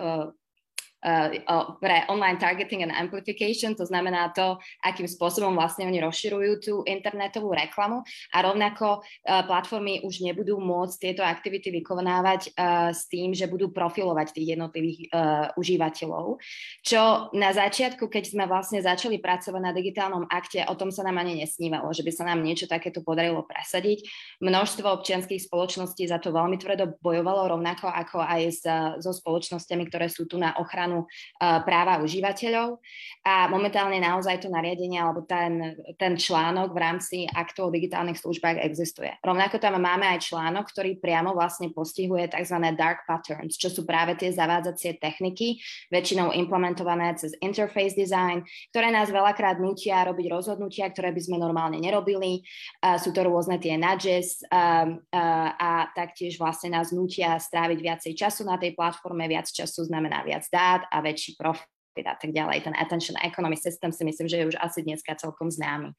Uh, pre online targeting and amplification, to znamená to, akým spôsobom vlastne oni rozširujú tú internetovú reklamu a rovnako uh, platformy už nebudú môcť tieto aktivity vykonávať uh, s tým, že budú profilovať tých jednotlivých uh, užívateľov. Čo na začiatku, keď sme vlastne začali pracovať na digitálnom akte, o tom sa nám ani nesnívalo, že by sa nám niečo takéto podarilo presadiť. Množstvo občianskych spoločností za to veľmi tvrdo bojovalo, rovnako ako aj s, so spoločnosťami, ktoré sú tu na ochranu práva užívateľov a momentálne naozaj to nariadenie alebo ten, ten článok v rámci aktu o digitálnych službách existuje. Rovnako tam máme aj článok, ktorý priamo vlastne postihuje tzv. Dark patterns, čo sú práve tie zavádzacie techniky, väčšinou implementované cez interface design, ktoré nás veľakrát nútia robiť rozhodnutia, ktoré by sme normálne nerobili. Uh, sú to rôzne tie nudges uh, uh, a taktiež vlastne nás nútia stráviť viacej času na tej platforme, viac času znamená viac dát a väčší profit a tak ďalej. Ten attention economy system si myslím, že je už asi dneska celkom známy.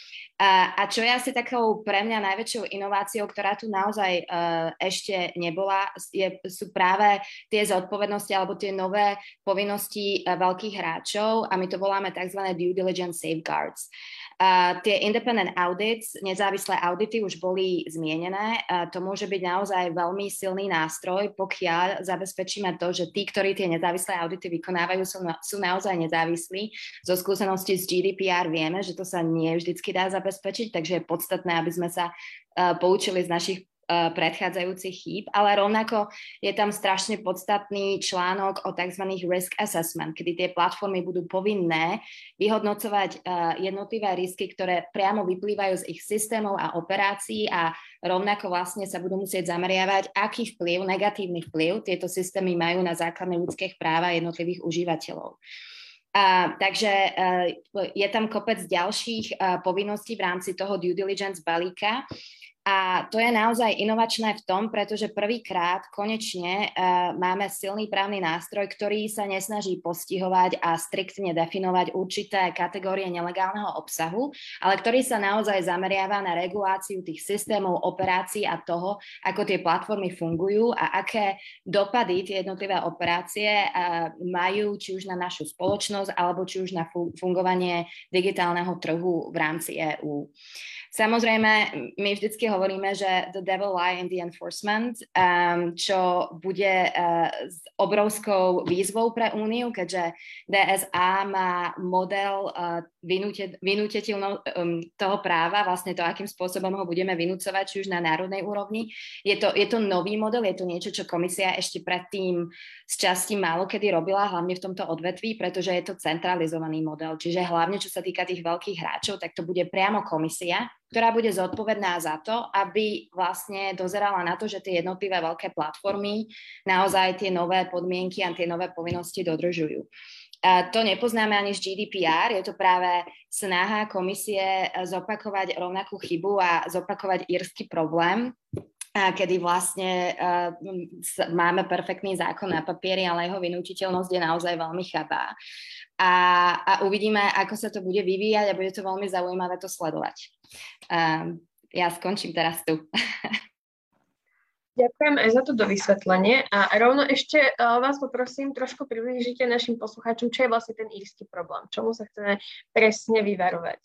A, a čo je asi takou pre mňa najväčšou inováciou, ktorá tu naozaj uh, ešte nebola, je, sú práve tie zodpovednosti alebo tie nové povinnosti uh, veľkých hráčov a my to voláme tzv. Due diligence safeguards. Uh, tie independent audits, nezávislé audity už boli zmienené. Uh, to môže byť naozaj veľmi silný nástroj, pokiaľ zabezpečíme to, že tí, ktorí tie nezávislé audity vykonávajú, sú, na, sú naozaj nezávislí. Zo skúseností z G D P R vieme, že to sa nie vždycky dá zabezpečiť, takže je podstatné, aby sme sa uh, poučili z našich predchádzajúcich chýb, ale rovnako je tam strašne podstatný článok o tzv. Risk assessment, kedy tie platformy budú povinné vyhodnocovať jednotlivé risky, ktoré priamo vyplývajú z ich systémov a operácií a rovnako vlastne sa budú musieť zameriavať, aký vplyv, negatívny vplyv tieto systémy majú na základné ľudské práva jednotlivých užívateľov. Uh, takže uh, je tam kopec ďalších uh, povinností v rámci toho due diligence balíka. A to je naozaj inovačné v tom, pretože prvýkrát konečne uh, máme silný právny nástroj, ktorý sa nesnaží postihovať a striktne definovať určité kategórie nelegálneho obsahu, ale ktorý sa naozaj zameriava na reguláciu tých systémov, operácií a toho, ako tie platformy fungujú a aké dopady tie jednotlivé operácie uh, majú či už na našu spoločnosť alebo či už na fungovanie digitálneho trhu v rámci EÚ. Samozrejme, my vždycky hovoríme, že the devil lie in the enforcement, um, čo bude uh, s obrovskou výzvou pre Úniu, keďže D S A má model uh, vynútiteľného um, toho práva, vlastne to, akým spôsobom ho budeme vynúcovať, či už na národnej úrovni. Je to, je to nový model, je to niečo, čo komisia ešte predtým z časti málo kedy robila, hlavne v tomto odvetví, pretože je to centralizovaný model. Čiže hlavne, čo sa týka tých veľkých hráčov, tak to bude priamo komisia, ktorá bude zodpovedná za to, aby vlastne dozerala na to, že tie jednotlivé veľké platformy naozaj tie nové podmienky a tie nové povinnosti dodržujú. A to nepoznáme ani z G D P R, je to práve snaha komisie zopakovať rovnakú chybu a zopakovať írsky problém, kedy vlastne uh, máme perfektný zákon na papieri, ale jeho vynútiteľnosť je naozaj veľmi chabá. A, a uvidíme, ako sa to bude vyvíjať a bude to veľmi zaujímavé to sledovať. Uh, ja skončím teraz tu. Ďakujem aj za to dovysvetlenie a rovno ešte uh, vás poprosím, trošku priblížite našim poslucháčom, čo je vlastne ten írsky problém, čomu sa chceme presne vyvarovať.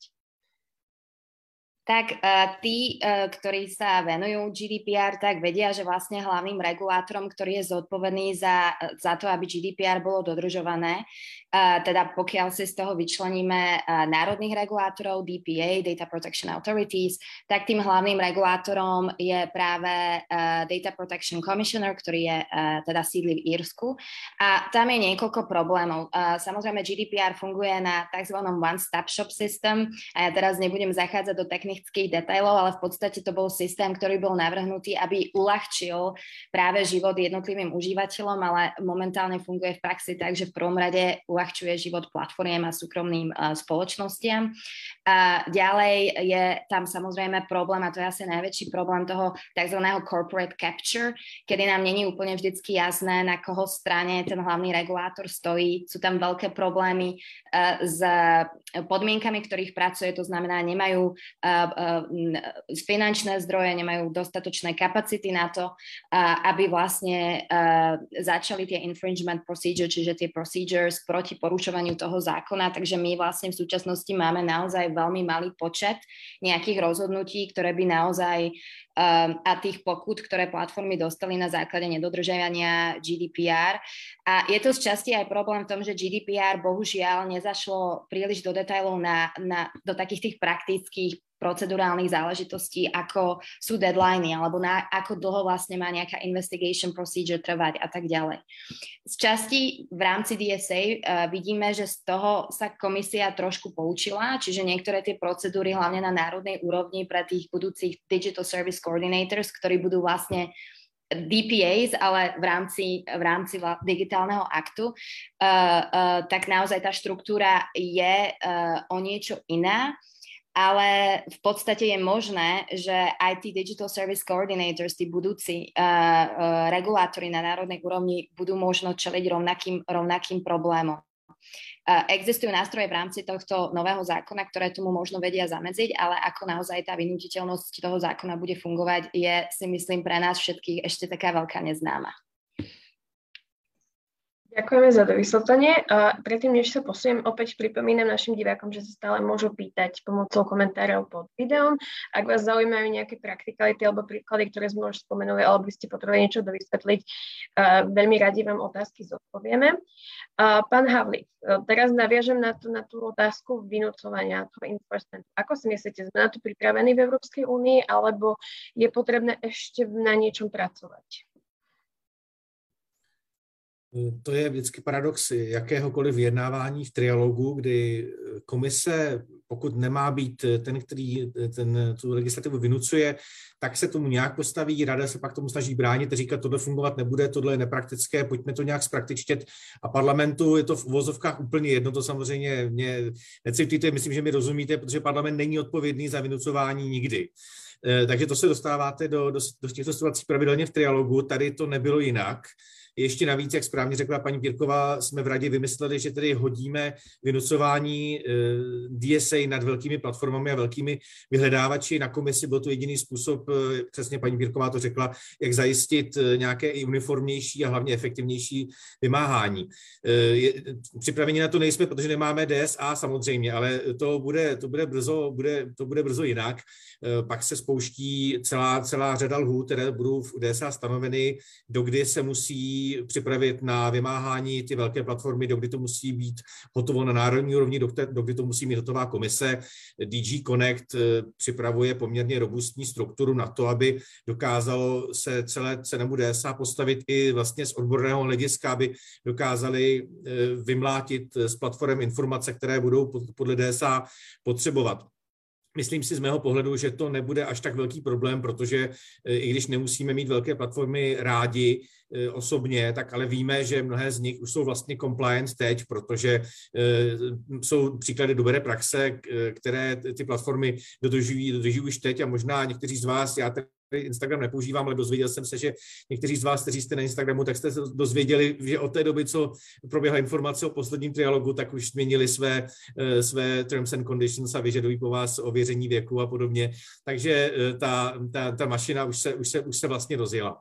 Tak uh, tí, uh, ktorí sa venujú G D P R, tak vedia, že vlastne hlavným regulátorom, ktorý je zodpovedný za, za to, aby G D P R bolo dodržované, uh, teda pokiaľ si z toho vyčleníme uh, národných regulátorov, D P A, Data Protection Authorities, tak tým hlavným regulátorom je práve uh, Data Protection Commissioner, ktorý je uh, teda sídli v Írsku. A tam je niekoľko problémov. Uh, samozrejme, G D P R funguje na tzv. One-stop shop system a ja teraz nebudem zachádzať do technických detailov, ale v podstate to bol systém, ktorý bol navrhnutý, aby uľahčil práve život jednotlivým užívateľom, ale momentálne funguje v praxi tak, že v prvom rade uľahčuje život platformiem a súkromným uh, spoločnostiam. A ďalej je tam samozrejme problém, a to je asi najväčší problém toho tzv. Corporate capture, kedy nám není úplne vždycky jasné, na koho strane ten hlavný regulátor stojí. Sú tam veľké problémy uh, s podmienkami, ktorých pracuje, to znamená, nemajú uh, finančné zdroje, nemajú dostatočné kapacity na to, aby vlastne začali tie infringement procedure, čiže tie procedures proti porušovaniu toho zákona. Takže my vlastne v súčasnosti máme naozaj veľmi malý počet nejakých rozhodnutí, ktoré by naozaj a tých pokút, ktoré platformy dostali na základe nedodržiavania G D P R. A je to z časti aj problém v tom, že G D P R bohužiaľ nezašlo príliš do detailov na, na, do takých tých praktických procedurálnych záležitostí, ako sú deadliny, alebo na, ako dlho vlastne má nejaká investigation procedure trvať a tak ďalej. Z časti v rámci D S A uh, vidíme, že z toho sa komisia trošku poučila, čiže niektoré tie procedúry, hlavne na národnej úrovni pre tých budúcich Digital Service Coordinators, ktorí budú vlastne D P As, ale v rámci, v rámci digitálneho aktu, uh, uh, tak naozaj tá štruktúra je uh, o niečo iná. Ale v podstate je možné, že aj tí Digital Service Coordinators, tí budúci uh, uh, regulátori na národnej úrovni budú možno čeliť rovnakým, rovnakým problémom. Uh, existujú nástroje v rámci tohto nového zákona, ktoré tomu možno vedia zamedziť, ale ako naozaj tá vynútiteľnosť toho zákona bude fungovať, je, si myslím, pre nás všetkých ešte taká veľká neznáma. Ďakujeme za dovysvetlenie. Predtým, než sa posuniem, opäť pripomínam našim divákom, že sa stále môžu pýtať pomocou komentárov pod videom. Ak vás zaujímajú nejaké praktikality alebo príklady, ktoré sme už spomenuli, alebo by ste potrebovali niečo dovysvetliť, veľmi radi vám otázky zodpovieme. Pán Havlík, teraz naviažem na tú, na tú otázku vynúcovania toho enforcementu. Ako si myslíte, sme na to pripravení v Európskej únii, alebo je potrebné ešte na niečom pracovať? To je vždycky paradox jakéhokoliv vyjednávání v trialogu, kdy komise, pokud nemá být ten, který ten, tu legislativu vynucuje, tak se tomu nějak postaví, rada se pak tomu snaží bránit a říkat, tohle fungovat nebude, tohle je nepraktické, pojďme to nějak zpraktičtět. A parlamentu je to v uvozovkách úplně jedno, to samozřejmě mě necitujte, myslím, že mi rozumíte, protože parlament není odpovědný za vynucování nikdy. Takže to se dostáváte do, do, do těchto situací pravidelně v trialogu, tady to nebylo jinak. Ještě navíc, jak správně řekla paní Pírková, jsme v radě vymysleli, že tedy hodíme vynucování D S A nad velkými platformami a velkými vyhledávači. Na komisi byl to jediný způsob, přesně paní Pírková to řekla, jak zajistit nějaké i uniformnější a hlavně efektivnější vymáhání. Připraveni na to nejsme, protože nemáme D S A samozřejmě, ale to bude, to bude, brzo, bude, to bude brzo jinak. Pak se spouští celá, celá řada lhůt, které budou v D S A stanoveny, dokdy se musí připravit na vymáhání ty velké platformy, dokdy to musí být hotovo na národní úrovni, dokdy to musí mít hotová komise. D G Connect připravuje poměrně robustní strukturu na to, aby dokázalo se celé cenému D S A postavit i vlastně z odborného hlediska, aby dokázali vymlátit z platform informace, které budou podle D S A potřebovat. Myslím si z mého pohledu, že to nebude až tak velký problém, protože i když nemusíme mít velké platformy rádi osobně, tak ale víme, že mnohé z nich už jsou vlastně compliant teď, protože jsou příklady dobré praxe, které ty platformy dodržují, dodržují už teď a možná někteří z vás, já tady Instagram nepoužívám, ale dozvěděl jsem se, že někteří z vás, kteří jste na Instagramu, tak jste se dozvěděli, že od té doby, co proběhla informace o posledním trialogu, tak už změnili své, své terms and conditions a vyžadují po vás ověření věku a podobně. Takže ta, ta, ta mašina už se, už, se, už se vlastně rozjela.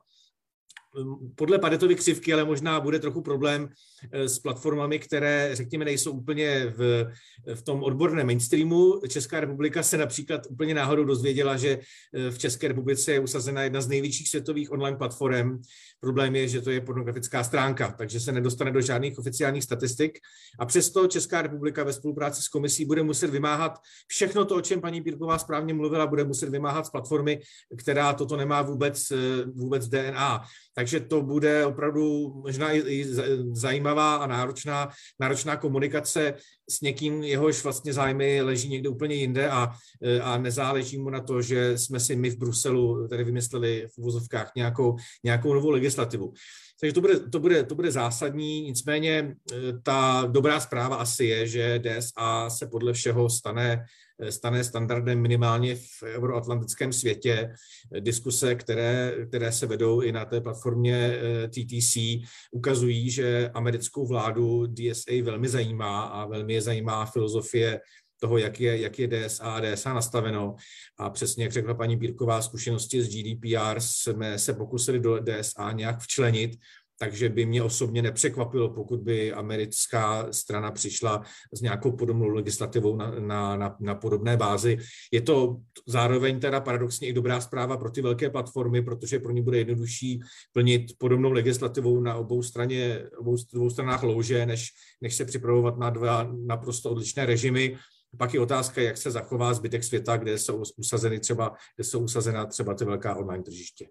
Podle Paretovy křivky ale možná bude trochu problém s platformami, které, řekněme, nejsou úplně v, v tom odborném mainstreamu. Česká republika se například úplně náhodou dozvěděla, že v České republice je usazena jedna z největších světových online platform. Problém je, že to je pornografická stránka, takže se nedostane do žádných oficiálních statistik. A přesto Česká republika ve spolupráci s komisí bude muset vymáhat všechno to, o čem paní Pírková správně mluvila, bude muset vymáhat z platformy, která toto nemá vůbec, vůbec D N A. Takže to bude opravdu možná i zajímavá a náročná, náročná komunikace s někým, jehož vlastně zájmy leží někde úplně jinde a, a nezáleží mu na to, že jsme si my v Bruselu tady vymysleli v uvozovkách nějakou, nějakou novou legislativu. Takže to bude, to, bude, to bude zásadní, nicméně ta dobrá zpráva asi je, že D S A se podle všeho stane, stane standardem minimálně v euroatlantickém světě. Diskuse, které, které se vedou i na té platformě T T C, ukazují, že americkou vládu D S A velmi zajímá a velmi je zajímá filozofie toho, jak je, jak je D S A a D S A nastaveno. A přesně, jak řekla paní Pírková, zkušenosti z G D P R jsme se pokusili do D S A nějak včlenit, takže by mě osobně nepřekvapilo, pokud by americká strana přišla s nějakou podobnou legislativou na, na, na, na podobné bázi. Je to zároveň teda paradoxně i dobrá zpráva pro ty velké platformy, protože pro ně bude jednodušší plnit podobnou legislativou na obou, straně, obou dvou stranách louže, než, než se připravovat na dva naprosto odlišné režimy. Pak je otázka, jak se zachová zbytek světa, kde jsou usazeny třeba, kde jsou usazena třeba ty velká online tržiště.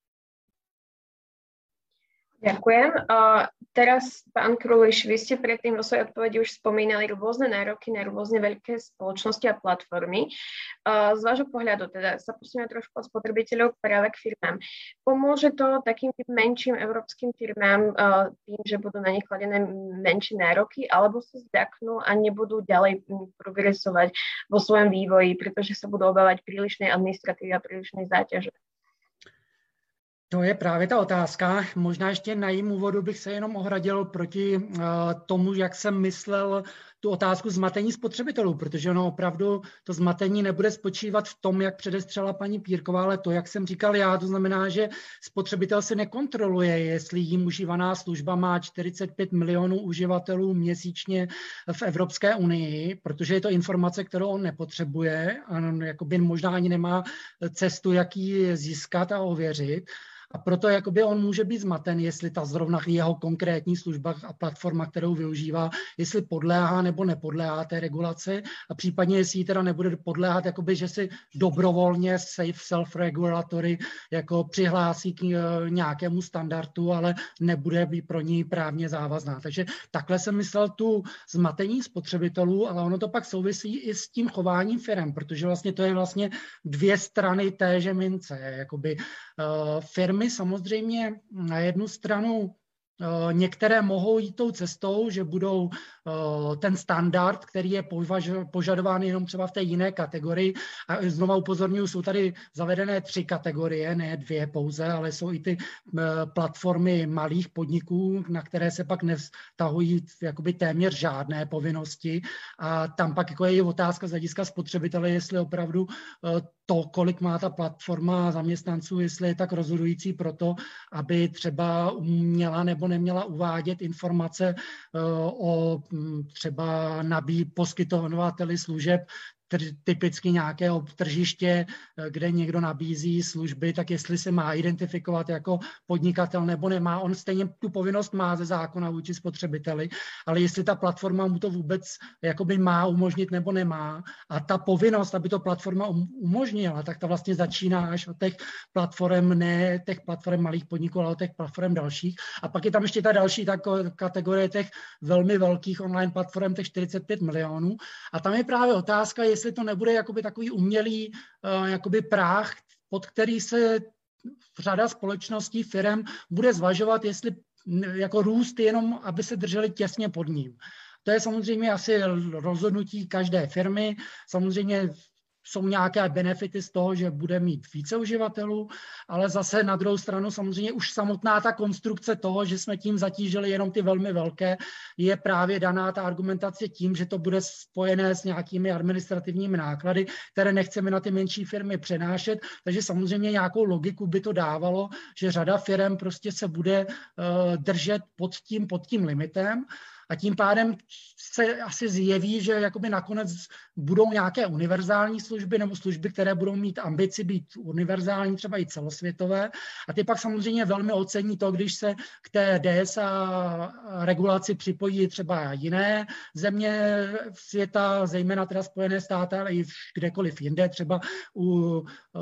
Ďakujem. Uh, teraz, pán Kruliš, vy ste predtým vo svojej odpovedi už spomínali rôzne nároky na rôzne veľké spoločnosti a platformy. Uh, z vášho pohľadu, teda sa posunieme trošku od spotrebiteľov práve k firmám. Pomôže to takým menším európskym firmám uh, tým, že budú na nich kladené menšie nároky, alebo sa zdaknú a nebudú ďalej progresovať vo svojom vývoji, pretože sa budú obávať prílišnej administratívy a prílišnej záťaže? To je právě ta otázka. Možná ještě na jím úvodu bych se jenom ohradil proti uh, tomu, jak jsem myslel tu otázku zmatení spotřebitelů, protože ono opravdu to zmatení nebude spočívat v tom, jak předestřela paní Pírková, ale to, jak jsem říkal já, to znamená, že spotřebitel si nekontroluje, jestli jim užívaná služba má čtyřicet pět milionů uživatelů měsíčně v Evropské unii, protože je to informace, kterou on nepotřebuje a on jakoby možná ani nemá cestu, jak ji získat a ověřit. A proto jakoby on může být zmaten, jestli ta zrovna jeho konkrétní služba a platforma, kterou využívá, jestli podléhá nebo nepodléhá té regulaci a případně jestli ji teda nebude podléhat, jakoby, že si dobrovolně safe self-regulatory jako přihlásí k nějakému standardu, ale nebude být pro ní právně závazná. Takže takhle jsem myslel tu zmatení spotřebitelů, ale ono to pak souvisí i s tím chováním firem, protože vlastně to je vlastně dvě strany téže mince. Jakoby uh, firmy samozřejmě na jednu stranu některé mohou jít tou cestou, že budou ten standard, který je požadován jenom třeba v té jiné kategorii. A znova upozorňuji, jsou tady zavedené tři kategorie, ne dvě pouze, ale jsou i ty platformy malých podniků, na které se pak nevztahují jakoby téměř žádné povinnosti. A tam pak jako je otázka z hlediska spotřebitele, jestli opravdu to, kolik má ta platforma zaměstnanců, jestli je tak rozhodující pro to, aby třeba měla nebo neměla uvádět informace o třeba nabí poskytovateli služeb, typicky nějakého tržiště, kde někdo nabízí služby, tak jestli se má identifikovat jako podnikatel nebo nemá. On stejně tu povinnost má ze zákona vůči spotřebiteli, ale jestli ta platforma mu to vůbec jakoby má umožnit nebo nemá. A ta povinnost, aby to platforma umožnila, tak ta vlastně začíná až od těch platform, ne těch platform malých podniků, ale od těch platform dalších. A pak je tam ještě ta další ta kategorie těch velmi velkých online platform, těch čtyřicet pět milionů. A tam je právě otázka, jestli to nebude jakoby takový umělý uh, jakoby práh, pod který se řada společností, firem bude zvažovat, jestli jako růst jenom, aby se drželi těsně pod ním. To je samozřejmě asi rozhodnutí každé firmy. Samozřejmě jsou nějaké benefity z toho, že bude mít více uživatelů, ale zase na druhou stranu samozřejmě už samotná ta konstrukce toho, že jsme tím zatížili jenom ty velmi velké, je právě daná ta argumentace tím, že to bude spojené s nějakými administrativními náklady, které nechceme na ty menší firmy přenášet, takže samozřejmě nějakou logiku by to dávalo, že řada firm prostě se bude uh, držet pod tím, pod tím limitem. A tím pádem se asi zjeví, že jakoby nakonec budou nějaké univerzální služby nebo služby, které budou mít ambici být univerzální, třeba i celosvětové. A ty pak samozřejmě velmi ocení to, když se k té D S A regulaci připojí třeba jiné země světa, zejména teda Spojené státy, ale i kdekoliv jinde. Třeba u uh,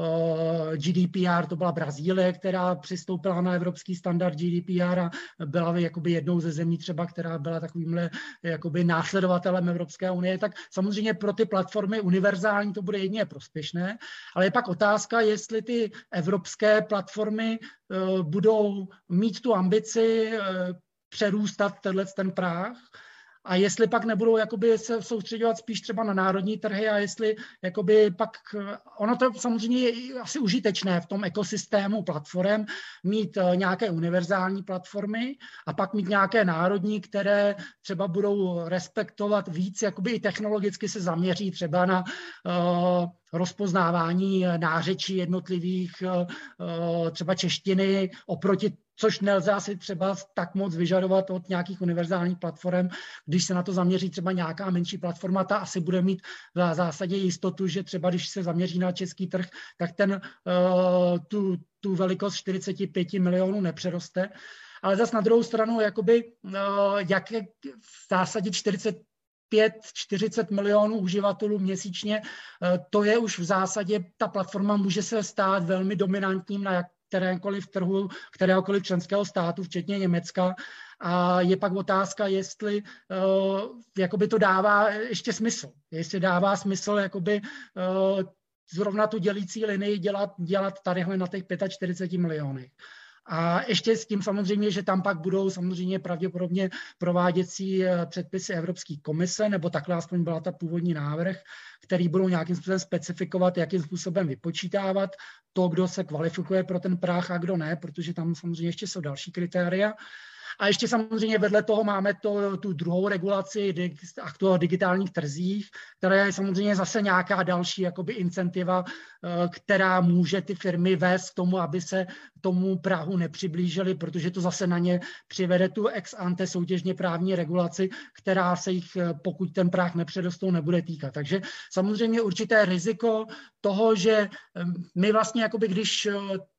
G D P R to byla Brazílie, která přistoupila na evropský standard G D P R a byla jakoby jednou ze zemí třeba, která byla tak takovýmhle jakoby následovatelem Evropské unie, tak samozřejmě pro ty platformy univerzální to bude jedině prospěšné, ale je pak otázka, jestli ty evropské platformy uh, budou mít tu ambici uh, přerůstat tenhle ten práh, a jestli pak nebudou jakoby se soustředovat spíš třeba na národní trhy a jestli jakoby pak, ono to samozřejmě je asi užitečné v tom ekosystému platform mít nějaké univerzální platformy a pak mít nějaké národní, které třeba budou respektovat víc, jakoby i technologicky se zaměří třeba na uh, rozpoznávání nářečí jednotlivých, uh, třeba češtiny oproti, což nelze asi třeba tak moc vyžadovat od nějakých univerzálních platform. Když se na to zaměří třeba nějaká menší platforma, ta asi bude mít v zásadě jistotu, že třeba když se zaměří na český trh, tak ten uh, tu, tu velikost čtyřicet pět milionů nepřeroste. Ale zase na druhou stranu, jakoby, uh, jak je v zásadě čtyřicet pět čtyřicet milionů uživatelů měsíčně, uh, to je už v zásadě, ta platforma může se stát velmi dominantním na jak kterékoliv trhu, kteréhokoliv členského státu, včetně Německa. A je pak otázka, jestli uh, jakoby to dává ještě smysl. Jestli dává smysl jakoby, uh, zrovna tu dělící linii dělat, dělat tadyhle na těch čtyřicet pět milionech. A ještě s tím samozřejmě, že tam pak budou samozřejmě pravděpodobně prováděcí předpisy Evropské komise, nebo takhle aspoň byla ta původní návrh, který budou nějakým způsobem specifikovat, jakým způsobem vypočítávat to, kdo se kvalifikuje pro ten práh a kdo ne, protože tam samozřejmě ještě jsou další kritéria. A ještě samozřejmě vedle toho máme to, tu druhou regulaci o digitálních trzích, která je samozřejmě zase nějaká další jakoby incentiva, která může ty firmy vést k tomu, aby se tomu prahu nepřiblížily, protože to zase na ně přivede tu ex ante soutěžně právní regulaci, která se jich, pokud ten práh nepředostou, nebude týkat. Takže samozřejmě určité riziko toho, že my vlastně jakoby když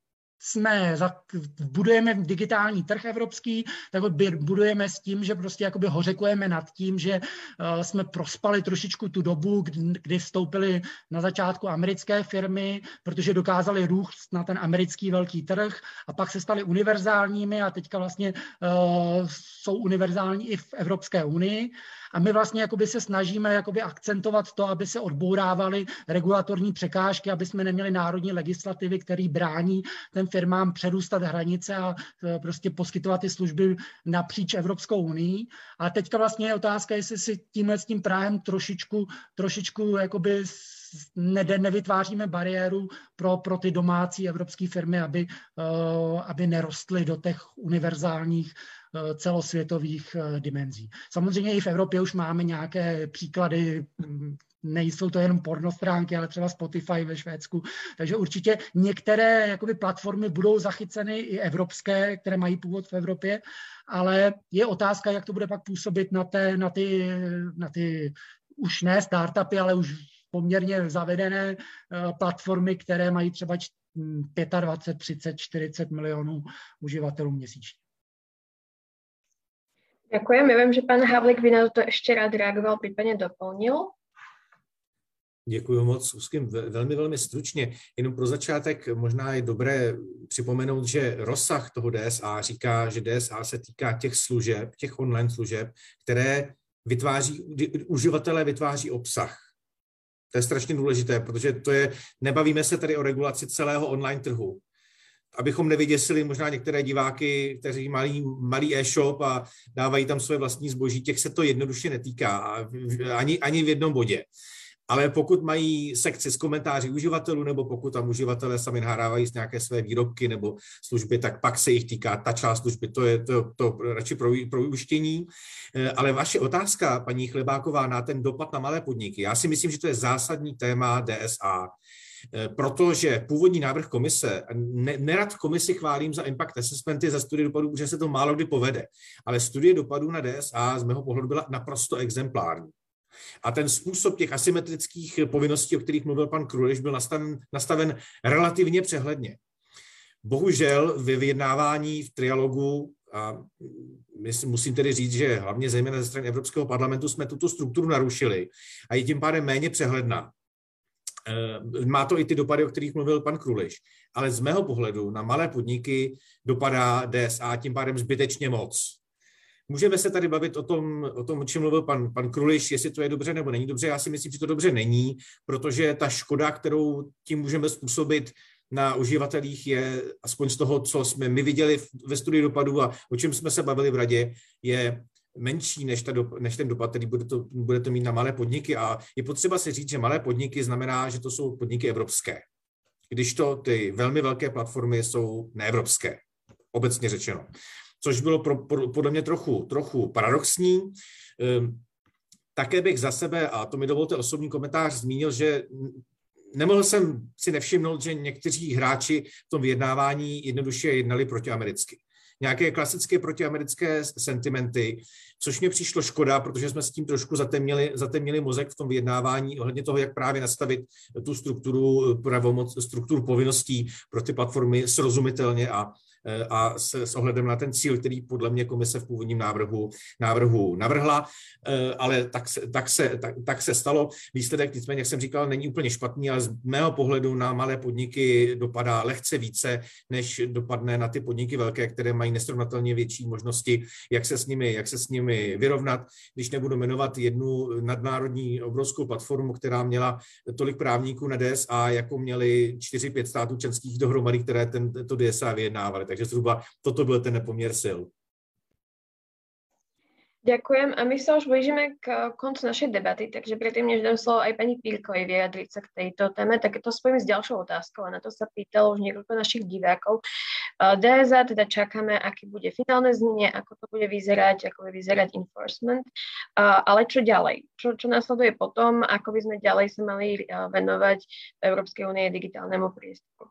jsme, budujeme digitální trh evropský, tak ho budujeme s tím, že prostě jakoby hořekujeme nad tím, že uh, jsme prospali trošičku tu dobu, kdy, kdy vstoupily na začátku americké firmy, protože dokázali růst na ten americký velký trh a pak se staly univerzálními a teďka vlastně uh, jsou univerzální i v Evropské unii. A my vlastně jakoby se snažíme jakoby akcentovat to, aby se odbourávaly regulatorní překážky, aby jsme neměli národní legislativy, které brání těm firmám přerůstat hranice a prostě poskytovat ty služby napříč Evropskou unii. A teďka vlastně je otázka, jestli si tímhle s tím Prahem trošičku, trošičku jakoby ne, nevytváříme bariéru pro, pro ty domácí evropské firmy, aby, uh, aby nerostly do těch univerzálních uh, celosvětových uh, dimenzí. Samozřejmě i v Evropě už máme nějaké příklady, nejsou to jenom pornostránky, ale třeba Spotify ve Švédsku, takže určitě některé jakoby, platformy budou zachyceny i evropské, které mají původ v Evropě, ale je otázka, jak to bude pak působit na, té, na, ty, na ty už ne startupy, ale už poměrně zavedené platformy, které mají třeba dvacet pět, třicet, čtyřicet milionů uživatelů měsíčně. Ďakujem. Ja viem, že pán Havlík by na to ešte rád reagoval, prípadne doplnil. Děkuji moc, úzkým, velmi, velmi stručně. Jenom pro začátek možná je dobré připomenout, že rozsah toho D S A říká, že D S A se týká těch služeb, těch online služeb, které vytváří, uživatelé vytváří obsah. To je strašně důležité, protože to je, nebavíme se tady o regulaci celého online trhu. Abychom nevyděsili možná některé diváky, kteří mají malý e-shop a dávají tam své vlastní zboží, těch se to jednoduše netýká ani, ani v jednom bodě. Ale pokud mají sekci s komentáři uživatelů, nebo pokud tam uživatelé sami nahrávají z nějaké své výrobky nebo služby, tak pak se jich týká ta část služby, to je to, to radši pro, pro vyuštění. Ale vaše otázka, paní Chlebáková, na ten dopad na malé podniky, já si myslím, že to je zásadní téma D S A, protože původní návrh komise, ne, nerad komisi chválím za impact assessmenty, za studie dopadů, protože se to málo kdy povede, ale studie dopadů na D S A z mého pohledu byla naprosto exemplární. A ten způsob těch asymetrických povinností, o kterých mluvil pan Kruliš, byl nastaven, nastaven relativně přehledně. Bohužel ve vyjednávání v trialogu, a musím tedy říct, že hlavně zejména ze strany Evropského parlamentu jsme tuto strukturu narušili a je tím pádem méně přehledná. Má to i ty dopady, o kterých mluvil pan Kruliš, ale z mého pohledu na malé podniky dopadá D S A tím pádem zbytečně moc. Můžeme se tady bavit o tom, o tom, o čem mluvil pan, pan Kruliš, jestli to je dobře nebo není dobře. Já si myslím, že to dobře není, protože ta škoda, kterou tím můžeme způsobit na uživatelích, je aspoň z toho, co jsme my viděli ve studii dopadů a o čem jsme se bavili v radě, je menší než, ta do, než ten dopad, který bude to, bude to mít na malé podniky. A je potřeba si říct, že malé podniky znamená, že to jsou podniky evropské. Když to ty velmi velké platformy jsou neevropské, obecně řečeno. Což bylo pro, pro, podle mě trochu, trochu paradoxní. Ehm, také bych za sebe, a to mi dovolte osobní komentář, zmínil, že nemohl jsem si nevšimnout, že někteří hráči v tom vyjednávání jednoduše jednali protiamericky. Nějaké klasické protiamerické sentimenty, což mě přišlo škoda, protože jsme s tím trošku zatemnili, zatemnili mozek v tom vyjednávání ohledně toho, jak právě nastavit tu strukturu pravomoc, strukturu povinností pro ty platformy srozumitelně a a s, s ohledem na ten cíl, který podle mě komise v původním návrhu, návrhu navrhla, ale tak se, tak, se, tak, tak se stalo. Výsledek, nicméně, jak jsem říkal, není úplně špatný, ale z mého pohledu na malé podniky dopadá lehce více, než dopadne na ty podniky velké, které mají nesrovnatelně větší možnosti, jak se s nimi, jak se s nimi vyrovnat. Když nebudu jmenovat jednu nadnárodní obrovskou platformu, která měla tolik právníků na D S A, jako měli čtyři pět států členských dohromady, které tento D S A vyjednávaly. Takže zhruba toto byl ten nepoměr sil. Ďakujem a my sa už blížime k koncu našej debaty, takže predtým, než dám slovo aj pani Pírkovej vyjadriť sa k tejto téme, tak to spojím s ďalšou otázkou a na to sa pýtalo už niekoľko našich divákov. D S A teda čakáme, aké bude finálne znenie, ako to bude vyzerať, ako bude vyzerať enforcement, ale čo ďalej? Čo, čo nasleduje potom, ako by sme ďalej sa mali venovať v Európskej únie digitálnemu priestoru?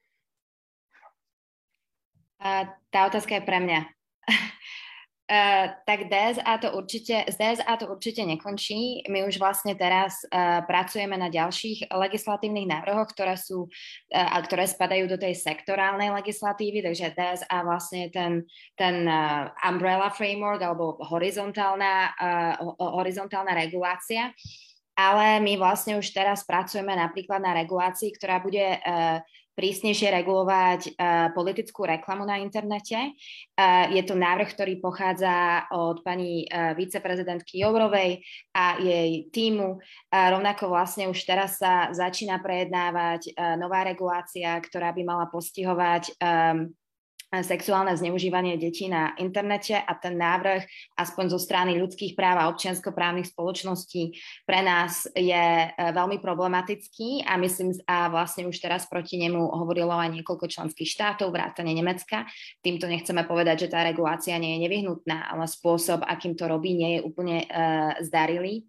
Uh, tá otázka je pre mňa. uh, tak D S A to určite, z D S A to určite nekončí. My už vlastne teraz uh, pracujeme na ďalších legislatívnych návrhoch, ktoré sú, uh, ktoré spadajú do tej sektorálnej legislatívy, takže D S A vlastne je ten, ten uh, umbrella framework alebo horizontálna, uh, horizontálna regulácia. ale my vlastne už teraz pracujeme napríklad na regulácii, ktorá bude uh, prísnejšie regulovať uh, politickú reklamu na internete. Uh, je to návrh, ktorý pochádza od pani uh, viceprezidentky Jourovej a jej tímu. Uh, rovnako vlastne už teraz sa začína prejednávať uh, nová regulácia, ktorá by mala postihovať um, sexuálne zneužívanie detí na internete a ten návrh, aspoň zo strany ľudských práv a občianskoprávnych spoločností, pre nás je veľmi problematický a myslím, a vlastne už teraz proti nemu hovorilo aj niekoľko členských štátov, vrátane Nemecka. Týmto nechceme povedať, že tá regulácia nie je nevyhnutná, ale spôsob, akým to robí, nie je úplne uh, zdarilý.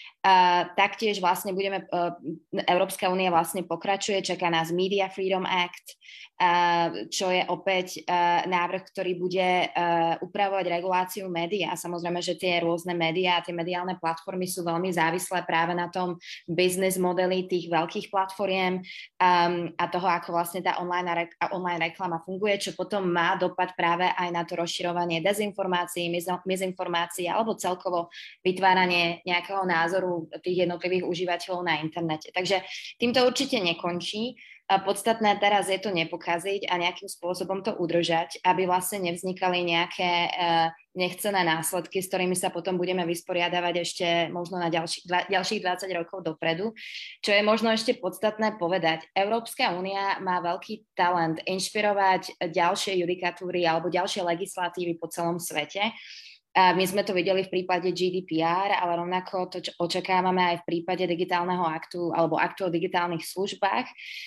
Uh, taktiež vlastne budeme, uh, Európska únia vlastne pokračuje, čaká nás Media Freedom Act, uh, čo je opäť uh, návrh, ktorý bude uh, upravovať reguláciu médií a samozrejme, že tie rôzne médiá a tie mediálne platformy sú veľmi závislé práve na tom business modeli tých veľkých platformiem um, a toho, ako vlastne tá online, re- online reklama funguje, čo potom má dopad práve aj na to rozširovanie dezinformácií, mizinformácií alebo celkovo vytváranie nejakého názoru tých jednotlivých užívateľov na internete. Takže týmto určite nekončí. Podstatné teraz je to nepokaziť a nejakým spôsobom to udržať, aby vlastne nevznikali nejaké nechcené následky, s ktorými sa potom budeme vysporiadavať ešte možno na ďalší, dva, ďalších dvadsať rokov dopredu. Čo je možno ešte podstatné povedať, Európska únia má veľký talent inšpirovať ďalšie judikatúry alebo ďalšie legislatívy po celom svete. My sme to videli v prípade G D P R, ale rovnako to očakávame aj v prípade digitálneho aktu alebo aktu o digitálnych službách.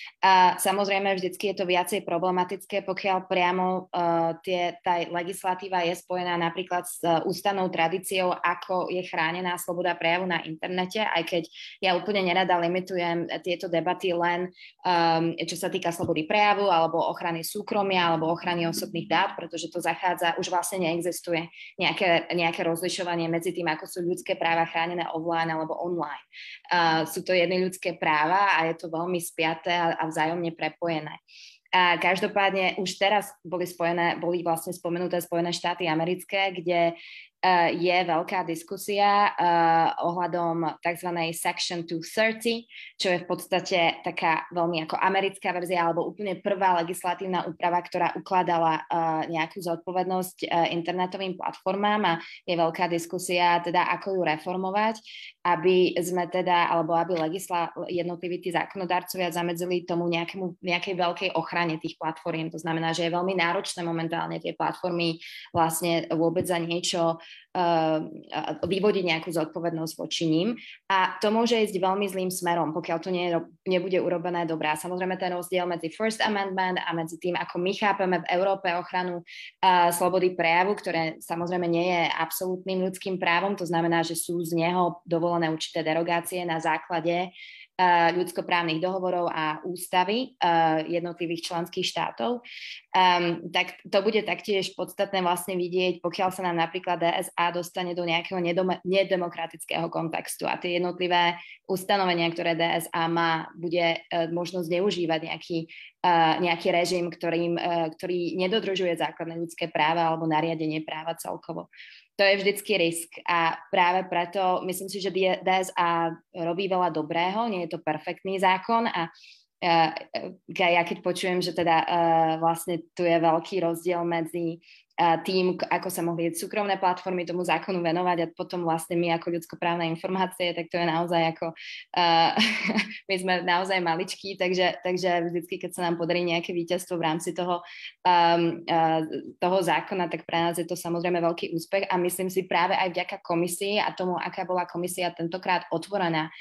A samozrejme, vždycky je to viacej problematické, pokiaľ priamo uh, tie, tá legislatíva je spojená napríklad s uh, ústavnou tradíciou, ako je chránená sloboda prejavu na internete, aj keď ja úplne nerada limitujem tieto debaty len um, čo sa týka slobody prejavu alebo ochrany súkromia alebo ochrany osobných dát, pretože to zachádza, už vlastne neexistuje nejaké nejaké rozlišovanie medzi tým, ako sú ľudské práva chránené offline alebo online. Uh, sú to jedny ľudské práva a je to veľmi spiaté a, a vzájomne prepojené. A každopádne už teraz boli spojené, boli vlastne spomenuté Spojené štáty americké, kde uh, je veľká diskusia uh, ohľadom tzv. Section dvestotridsať, čo je v podstate taká veľmi ako americká verzia alebo úplne prvá legislatívna úprava, ktorá ukladala uh, nejakú zodpovednosť uh, internetovým platformám a je veľká diskusia teda, ako ju reformovať, aby sme teda, alebo aby legisla, jednotliví tí zákonodarcovia zamedzili tomu nejakému, nejakej veľkej ochrane tých platform. To znamená, že je veľmi náročné momentálne tie platformy vlastne vôbec za niečo uh, vyvodiť nejakú zodpovednosť voči ním. A to môže ísť veľmi zlým smerom, pokiaľ to nie, nebude urobené dobrá. Samozrejme ten rozdiel medzi First Amendment a medzi tým, ako my chápeme v Európe ochranu uh, slobody prejavu, ktoré samozrejme nie je absolútnym ľudským právom, to znamená, že sú z neho dovolené určité derogácie na základe uh, ľudskoprávnych dohovorov a ústavy uh, jednotlivých členských štátov. Um, tak to bude taktiež podstatné vlastne vidieť, pokiaľ sa nám napríklad D S A dostane do nejakého nedom- nedemokratického kontextu a tie jednotlivé ustanovenia, ktoré D S A má, bude uh, možno zneužívať nejaký, uh, nejaký režim, ktorým, uh, ktorý nedodržuje základné ľudské práva alebo nariadenie práva celkovo. To je vždycky risk a práve preto myslím si, že D S A robí veľa dobrého, nie je to perfektný zákon a uh, ja keď počujem, že teda uh, vlastne tu je veľký rozdiel medzi uh, tým, ako sa mohli súkromné platformy tomu zákonu venovať a potom vlastne my ako ľudskoprávne informácie, tak to je naozaj ako uh, my sme naozaj maličkí, takže, takže vždycky, keď sa nám podarí nejaké víťazstvo v rámci toho, um, uh, toho zákona, tak pre nás je to samozrejme veľký úspech a myslím si práve aj vďaka komisii a tomu, aká bola komisia tentokrát otvorená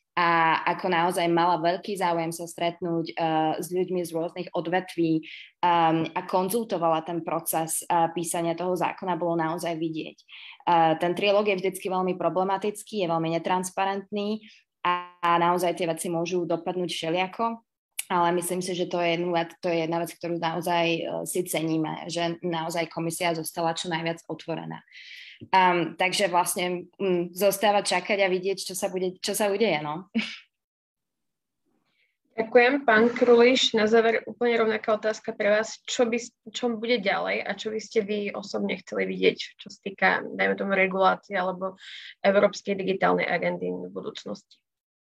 a ako naozaj mala veľký záujem sa stretnúť uh, s ľuďmi z rôznych odvetví um, a konzultovala ten proces uh, písania toho zákona, bolo naozaj vidieť. Uh, ten trilóg je vždycky veľmi problematický, je veľmi netransparentný a, a naozaj tie veci môžu dopadnúť všeliako, ale myslím si, že to je, to je jedna vec, ktorú naozaj uh, si ceníme, že naozaj komisia zostala čo najviac otvorená. Um, takže vlastne um, zostáva čakať a vidieť, čo sa, bude, čo sa udeje. No. Ďakujem. Pán Kruliš, na záver úplne rovnaká otázka pre vás. Čo, by, čo bude ďalej a čo by ste vy osobne chceli vidieť, čo sa týka, dajme tomu, regulácie alebo európskej digitálnej agendy v budúcnosti?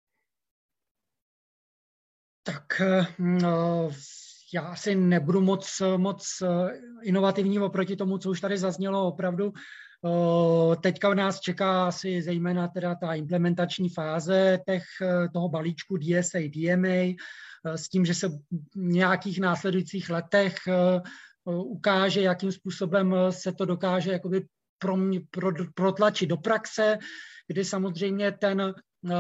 Tak no, já asi nebudu moc, moc inovativní oproti tomu, co už tady zaznělo opravdu. Teďka nás čeká asi zejména teda ta implementační fáze těch, toho balíčku D S A, D M A, s tím, že se v nějakých následujících letech ukáže, jakým způsobem se to dokáže jakoby pro, pro, protlačit do praxe, kdy samozřejmě ten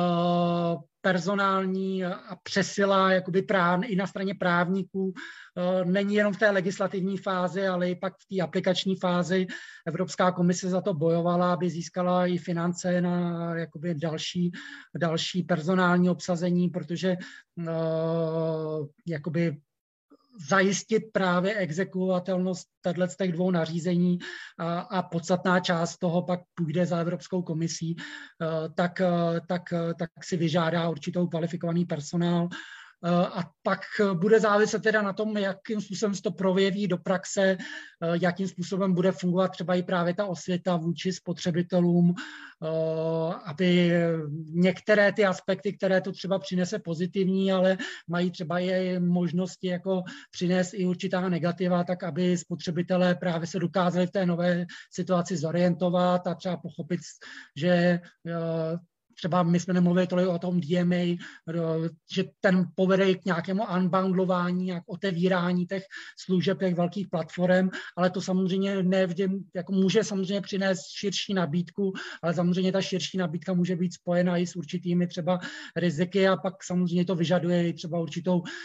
personální a přesila jakoby práv, i na straně právníků není jenom v té legislativní fázi, ale i pak v té aplikační fázi. Evropská komise za to bojovala, aby získala i finance na jakoby další, další personální obsazení, protože uh, jakoby zajistit právě exekuovatelnost z těch dvou nařízení a, a podstatná část toho pak půjde za Evropskou komisí, tak, tak, tak si vyžádá určitou kvalifikovaný personál. A pak bude záviset teda na tom, jakým způsobem se to projeví do praxe, jakým způsobem bude fungovat třeba i právě ta osvěta vůči spotřebitelům, aby některé ty aspekty, které to třeba přinese pozitivní, ale mají třeba i možnosti jako přinést i určitá negativa, tak aby spotřebitelé právě se dokázali v té nové situaci zorientovat a třeba pochopit, že třeba my jsme nemluvili tolik o tom D M A, že ten povede k nějakému unbundlování, k otevírání těch služeb, těch velkých platform, ale to samozřejmě nevždy, jako může samozřejmě přinést širší nabídku, ale samozřejmě ta širší nabídka může být spojena i s určitými třeba riziky a pak samozřejmě to vyžaduje i třeba určitou uh,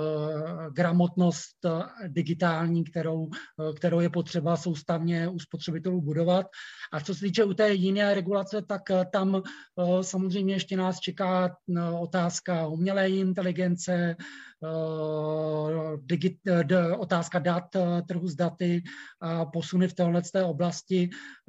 gramotnost digitální, kterou, uh, kterou je potřeba soustavně u spotřebitelů budovat. A co se týče u té jiné regulace, tak uh, tam uh, samozřejmě ještě nás čeká otázka umělé inteligence, digit, otázka dat, trhu s daty a posuny v této oblasti,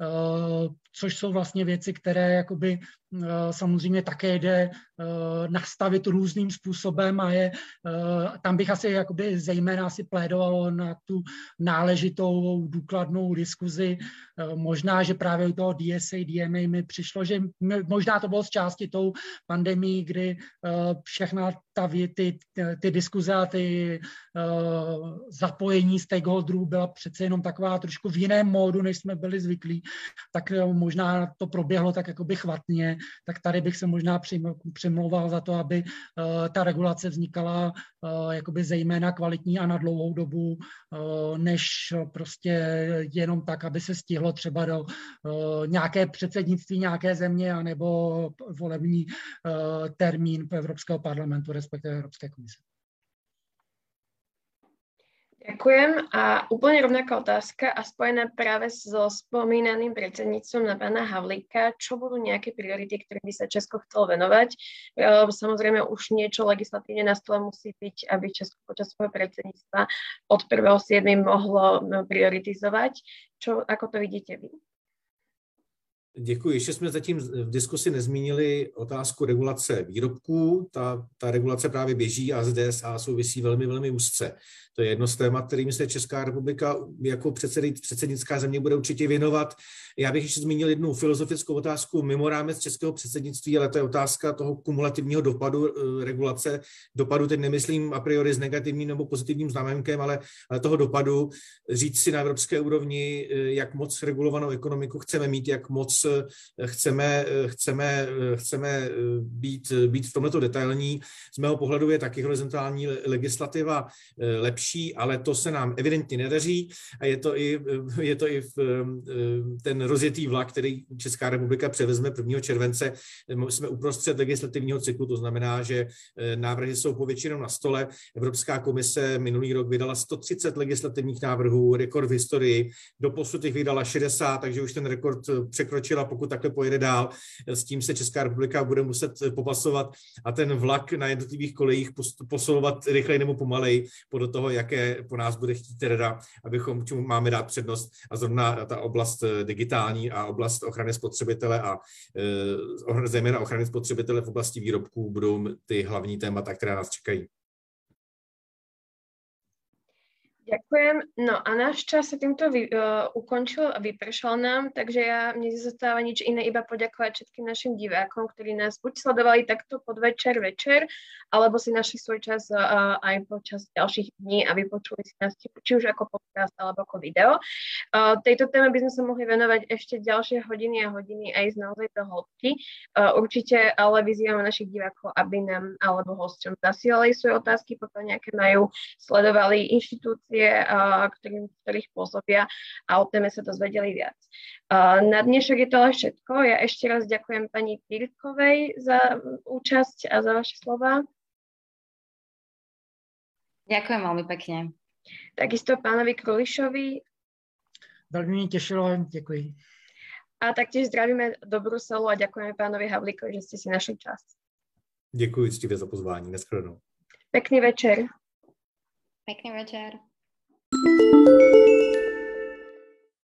což jsou vlastně věci, které jakoby samozřejmě také jde nastavit různým způsobem a je, tam bych asi jakoby zejména asi plédovalo na tu náležitou důkladnou diskuzi. Možná, že právě u toho D S A, D M A mi přišlo, že možná to bylo z části tou pandemii, kdy všechna ta, ty, ty diskuze a ty uh, zapojení stakeholderů byla přece jenom taková trošku v jiném módu, než jsme byli zvyklí, tak uh, možná to proběhlo tak jakoby chvatně, tak tady bych se možná přimlouval za to, aby uh, ta regulace vznikala uh, jakoby zejména kvalitní a na dlouhou dobu, uh, než prostě jenom tak, aby se stihlo třeba do uh, nějaké předsednictví nějaké země anebo volební uh, termín Evropského parlamentu, respektive Európskej komise. Ďakujem. A úplne rovnaká otázka a spojená práve so spomínaným predsedníctvom na pána Havlíka. Čo budú nejaké priority, ktoré by sa Česko chcelo venovať? Samozrejme už niečo legislatívne na stole musí byť, aby Česko počas svojho predsedníctva od prvého siedmeho mohlo prioritizovať. Čo, ako to vidíte vy? Děkuji. Ještě jsme zatím v diskusi nezmínili otázku regulace výrobků. Ta, ta regulace právě běží a s D S A souvisí velmi, velmi úzce. To je jedno z témat, kterým se Česká republika jako předsednická země bude určitě věnovat. Já bych ještě zmínil jednu filozofickou otázku mimo rámec českého předsednictví, ale to je otázka toho kumulativního dopadu regulace. Dopadu teď nemyslím a priori s negativním nebo pozitivním znamenkem, ale, ale toho dopadu říct si na evropské úrovni, jak moc regulovanou ekonomiku chceme mít, jak moc chceme, chceme, chceme být, být v tomto detailní. Z mého pohledu je taky horizontální legislativa lepší, ale to se nám evidentně nedaří a je to i, je to i v, ten rozjetý vlak, který Česká republika převezme prvního července. Jsme uprostřed legislativního cyklu, to znamená, že návrhy jsou povětšinou na stole. Evropská komise minulý rok vydala sto třicet legislativních návrhů, rekord v historii. Doposud jich vydala šedesát, takže už ten rekord překročila, pokud takhle pojede dál. S tím se Česká republika bude muset popasovat a ten vlak na jednotlivých kolejích posilovat rychleji nebo pomalej podle toho, jaké po nás bude chtít rada, abychom čemu máme dát přednost. A zrovna ta oblast digitální a oblast ochrany spotřebitele a e, zejména ochrany spotřebitele v oblasti výrobků budou ty hlavní témata, které nás čekají. Ďakujem. No a náš čas sa týmto vy, uh, ukončil a vypršal nám, takže ja mne nezostáva nič iné, iba poďakovať všetkým našim divákom, ktorí nás buď sledovali takto podvečer, večer, alebo si našli svoj čas uh, aj počas ďalších dní a vypočuli si nás či už ako podcast alebo ako video. Uh, tejto téme by sme sa mohli venovať ešte ďalšie hodiny a hodiny aj z naozaj do hĺbky. Uh, určite ale vyzývame našich divákov, aby nám alebo hosťom zasielali svoje otázky, pokiaľ nejaké majú, sledovali inštitúcie, Ktorým, ktorých pôsobia a o téme sa dozvedeli viac. Na dnešok je to ale všetko. Ja ešte raz ďakujem pani Pirkovej za účasť a za vaše slova. Ďakujem veľmi pekne. Takisto pánovi Krulišovi. Veľmi mi tešilo, ďakujem. A taktiež zdravíme do Bruselu a ďakujeme pánovi Havlíkovi, že ste si našli čas. Děkuji ctivě za pozvání. Nashledanou. Pekný večer. Pekný večer. Thank you.